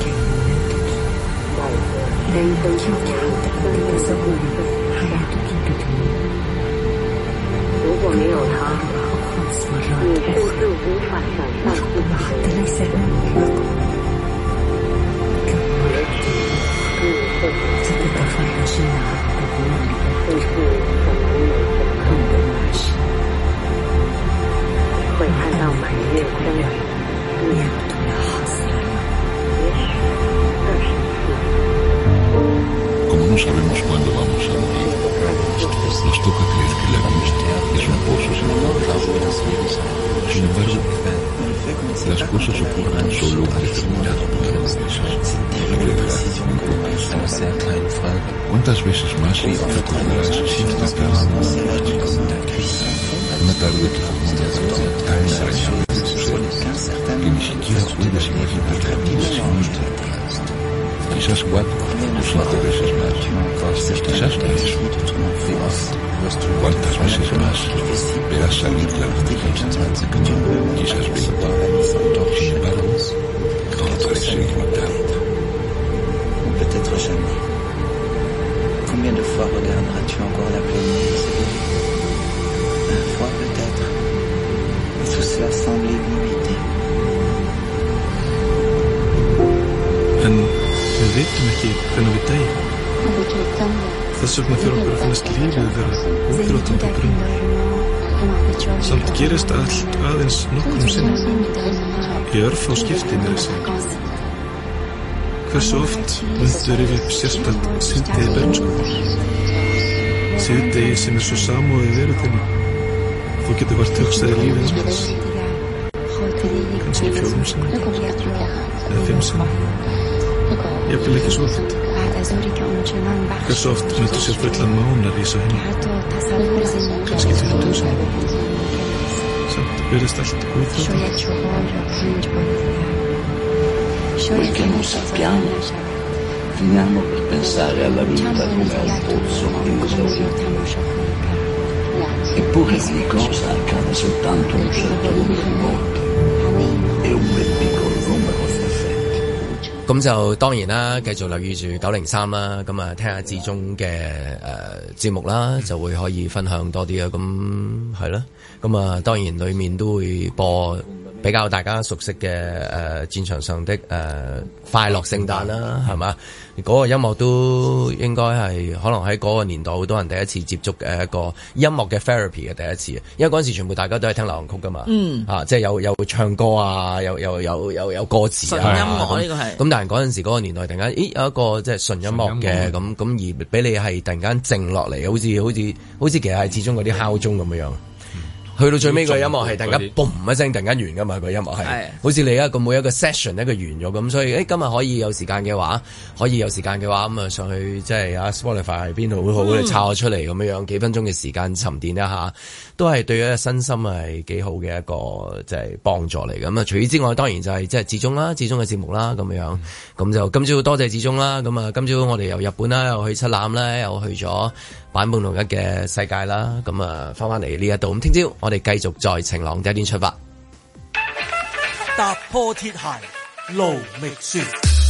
如果没有他，你甚至无法想象自己的这个地方还是哪的不那里的，甚至可能有着很多那事，会看到满月光，也不懂得好死了。也许这是 Como no sabemos cuándo vamos a morir, nos toca creer que la vida es un pozo sin fondo. Sin embargo, las cosas ocurren solo un determinado número de veces. ¿Cuántas veces más recordarás sin estar una tarde que fue tan entrañable de tu ser que ni siquiera puedes imaginar la vida sin ella? Quizás 4 o 5 veces más, quizás 3. ¿Cuántas veces más verás salir la luz? Quizás 20. Sin embargo, todo parece ilimitado. Ou peut-être jamais. Combien de fois regarderas-tu encore la pleine lune s'élever? 1 fois peut-être. Et tout cela semble illimité. Við veitum ekki hvernig við deyjum. Þess vegna fyrir okkur að finnast lífið vera útrátandi grunn. Samt gerist allt aðeins nokkrum sinnum. Í örfá skipti meira að segja. Hversu oft myndu rifja upp sérstætt síðdegi bernsku? Síðdegi sem svo samúðið veröldinni. Þú getur vart hugsaði lífið hans. Kannski 4 sinnum. Eða 5 sinnum. Jafnvel ekki svo oft. Hversu oft myndu sér fullan mána rísa henni. Kannski 20 sinnum. Samt verðist allt útflóðið. Quel che non sappiamo, finiamo per pensare alla vita come a un pozzo chiuso. Eppure ogni cosa accade soltanto un certo numero di volte e un bel piccolo numero perfetto. 咁就當然啦，繼續留意住903啦，咁啊聽下志忠嘅節目啦，就會可以分享多啲啊。咁係啦，咁啊當然裡面都會播比較大家熟悉嘅戰場上的快樂聖誕啦，係嘛？嗰個音樂都應該係可能喺嗰個年代好多人第一次接觸嘅一個音樂嘅 therapy 嘅第一次，因為嗰陣時全部大家都係聽流行曲噶嘛，即係有唱歌啊，有歌詞啊， 純音樂呢個係。 咁但係嗰陣時嗰個年代突然間，有一個即係純音樂嘅咁而俾你係突然間靜落嚟，好似其實係始終嗰啲敲鐘咁樣。去到最尾個音樂係突然間嘣一聲突然間完噶嘛，個音樂係好似你每一個 session 一個完咗咁，所以今日可以有時間嘅話咁啊上去即係啊 Spotify 邊度會好你抄咗出嚟咁樣幾分鐘嘅時間沉澱一下，都係對一身心係幾好嘅一個即係幫助嚟咁啊！除此之外，當然就係即係志忠嘅節目啦咁樣，咁就今朝多謝志忠啦，咁啊今朝我哋由日本啦，又去七欖啦，又去咗坂本龍一嘅世界啦，咁啊翻嚟呢一度，咁聽朝我哋繼續在晴朗第一天出發， 踏破鐵鞋路覓雪。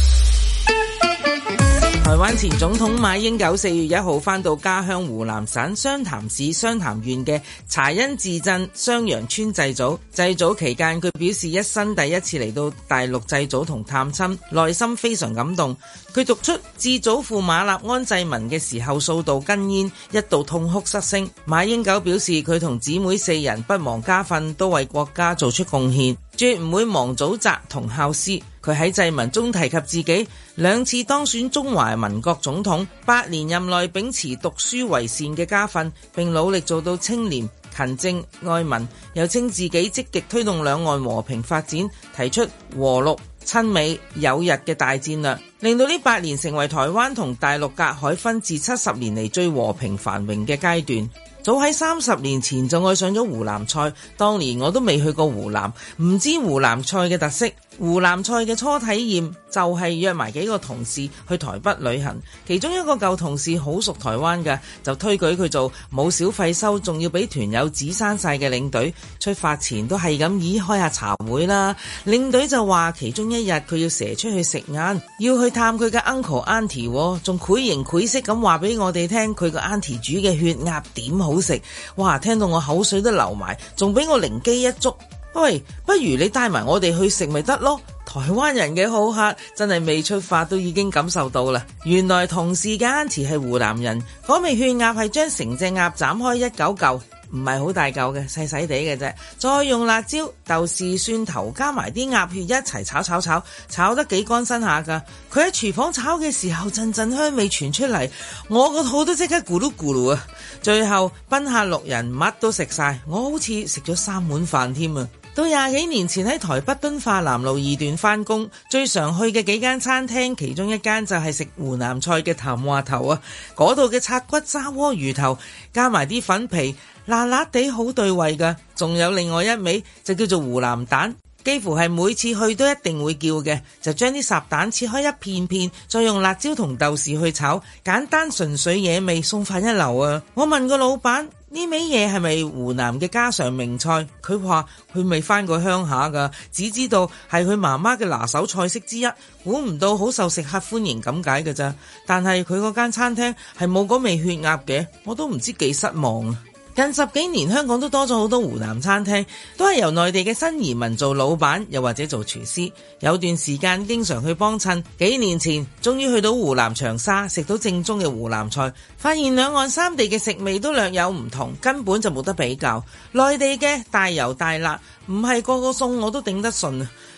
台灣前總統馬英九4月1號返到家鄉湖南省湘潭市湘潭縣嘅茶恩寺鎮襄陽村祭祖。祭祖期間，佢表示一生第一次嚟到大陸祭祖同探親，內心非常感動。佢讀出致祖父馬立安祭文嘅時候，數度哽咽，一度痛哭失聲。馬英九表示佢同姊妹4人不忘家訓，都為國家做出貢獻，絕唔會忘祖責同孝師。佢喺祭文中提及自己2次當選中華民國總統，8年任內秉持讀書為善嘅家訓，並努力做到清廉、勤政、愛民。又稱自己積極推動兩岸和平發展，提出和陸、親美、友日嘅大戰略，令到呢8年成為台灣同大陸隔海分治70年嚟最和平繁榮嘅階段。早喺30年前就愛上咗湖南菜，當年我都未去過湖南，唔知湖南菜嘅特色。湖南菜嘅初體驗就係約埋幾個同事去台北旅行，其中一個舊同事好熟台灣嘅，就推舉佢做冇小費收，仲要俾團友指生晒嘅領隊。出發前都係咁開下茶會啦。領隊就話其中一日佢要蛇出去食晏，要去探佢嘅 uncle auntie， 仲繪形繪色咁話俾我哋聽佢個 auntie 煮嘅血鴨點好食。哇！聽到我口水都流埋，仲俾我靈機一觸。喂，不如你帶埋我哋去食咪得咯？台灣人嘅好客真係未出發都已經感受到啦。原來同事嘅 auntie 係湖南人，嗰味血鴨係將成隻鴨斬開1嚿，唔係好大嚿嘅，細細地嘅啫。再用辣椒、豆豉、蒜頭加埋啲鴨血一齊炒得幾乾身下㗎。佢喺廚房炒嘅時候，陣陣香味傳出嚟，我個肚都即刻咕嚕咕嚕啊！最後賓客6人乜都食晒，我好似食咗3碗飯添啊！到20幾年前喺台北敦化南路2段返工，最常去嘅幾間餐廳，其中一間就係食湖南菜嘅譚話頭啊！嗰度嘅拆骨砂鍋魚頭加埋啲粉皮，辣辣地好對味㗎。仲有另外一味就叫做湖南蛋，幾乎係每次去都一定會叫嘅，就將啲烚蛋切開一片片，再用辣椒同豆豉去炒，簡單純粹野味，送飯一流啊！我問個老闆，呢味嘢係咪湖南嘅家常名菜？佢話佢未返過鄉下㗎，只知道係佢媽媽嘅拿手菜式之一，估唔到好受食客歡迎咁解㗎咋。但係佢嗰間餐廳係冇嗰味血鴨嘅，我都唔知幾失望啊！近10幾年，香港都多咗好多湖南餐廳，都係由內地嘅新移民做老闆，又或者做廚師。有段時間經常去幫襯，幾年前終於去到湖南長沙，食到正宗嘅湖南菜，發現兩岸三地嘅食味都略有唔同，根本就冇得比較。內地嘅大油大辣，唔係個個餸我都頂得順啊！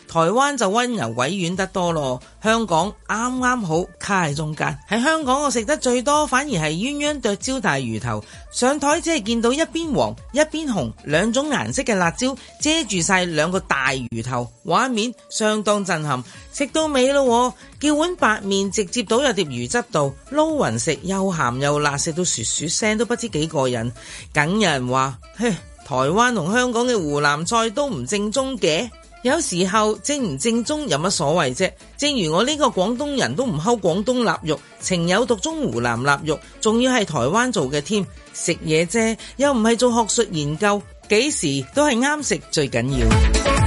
台灣就溫柔委婉得多咯，香港啱啱好卡喺中間。喺香港我食得最多反而係鴛鴦剁椒大魚頭，上台只係見到一邊黃一邊紅兩種顏色嘅辣椒遮住晒兩個大魚頭，畫面相當震撼。食到尾咯，叫碗白麵直接倒入碟魚汁度撈勻食，又鹹又辣，食到噓噓聲都不知幾過癮。梗有人話，嘿，台灣同香港嘅湖南菜都唔正宗嘅。有時候正唔正宗有乜所謂啫？正如我呢個廣東人都唔睺廣東臘肉，情有獨鍾湖南臘肉，仲要係台灣做嘅添。食嘢啫，又唔係做學術研究，幾時都係啱食最緊要。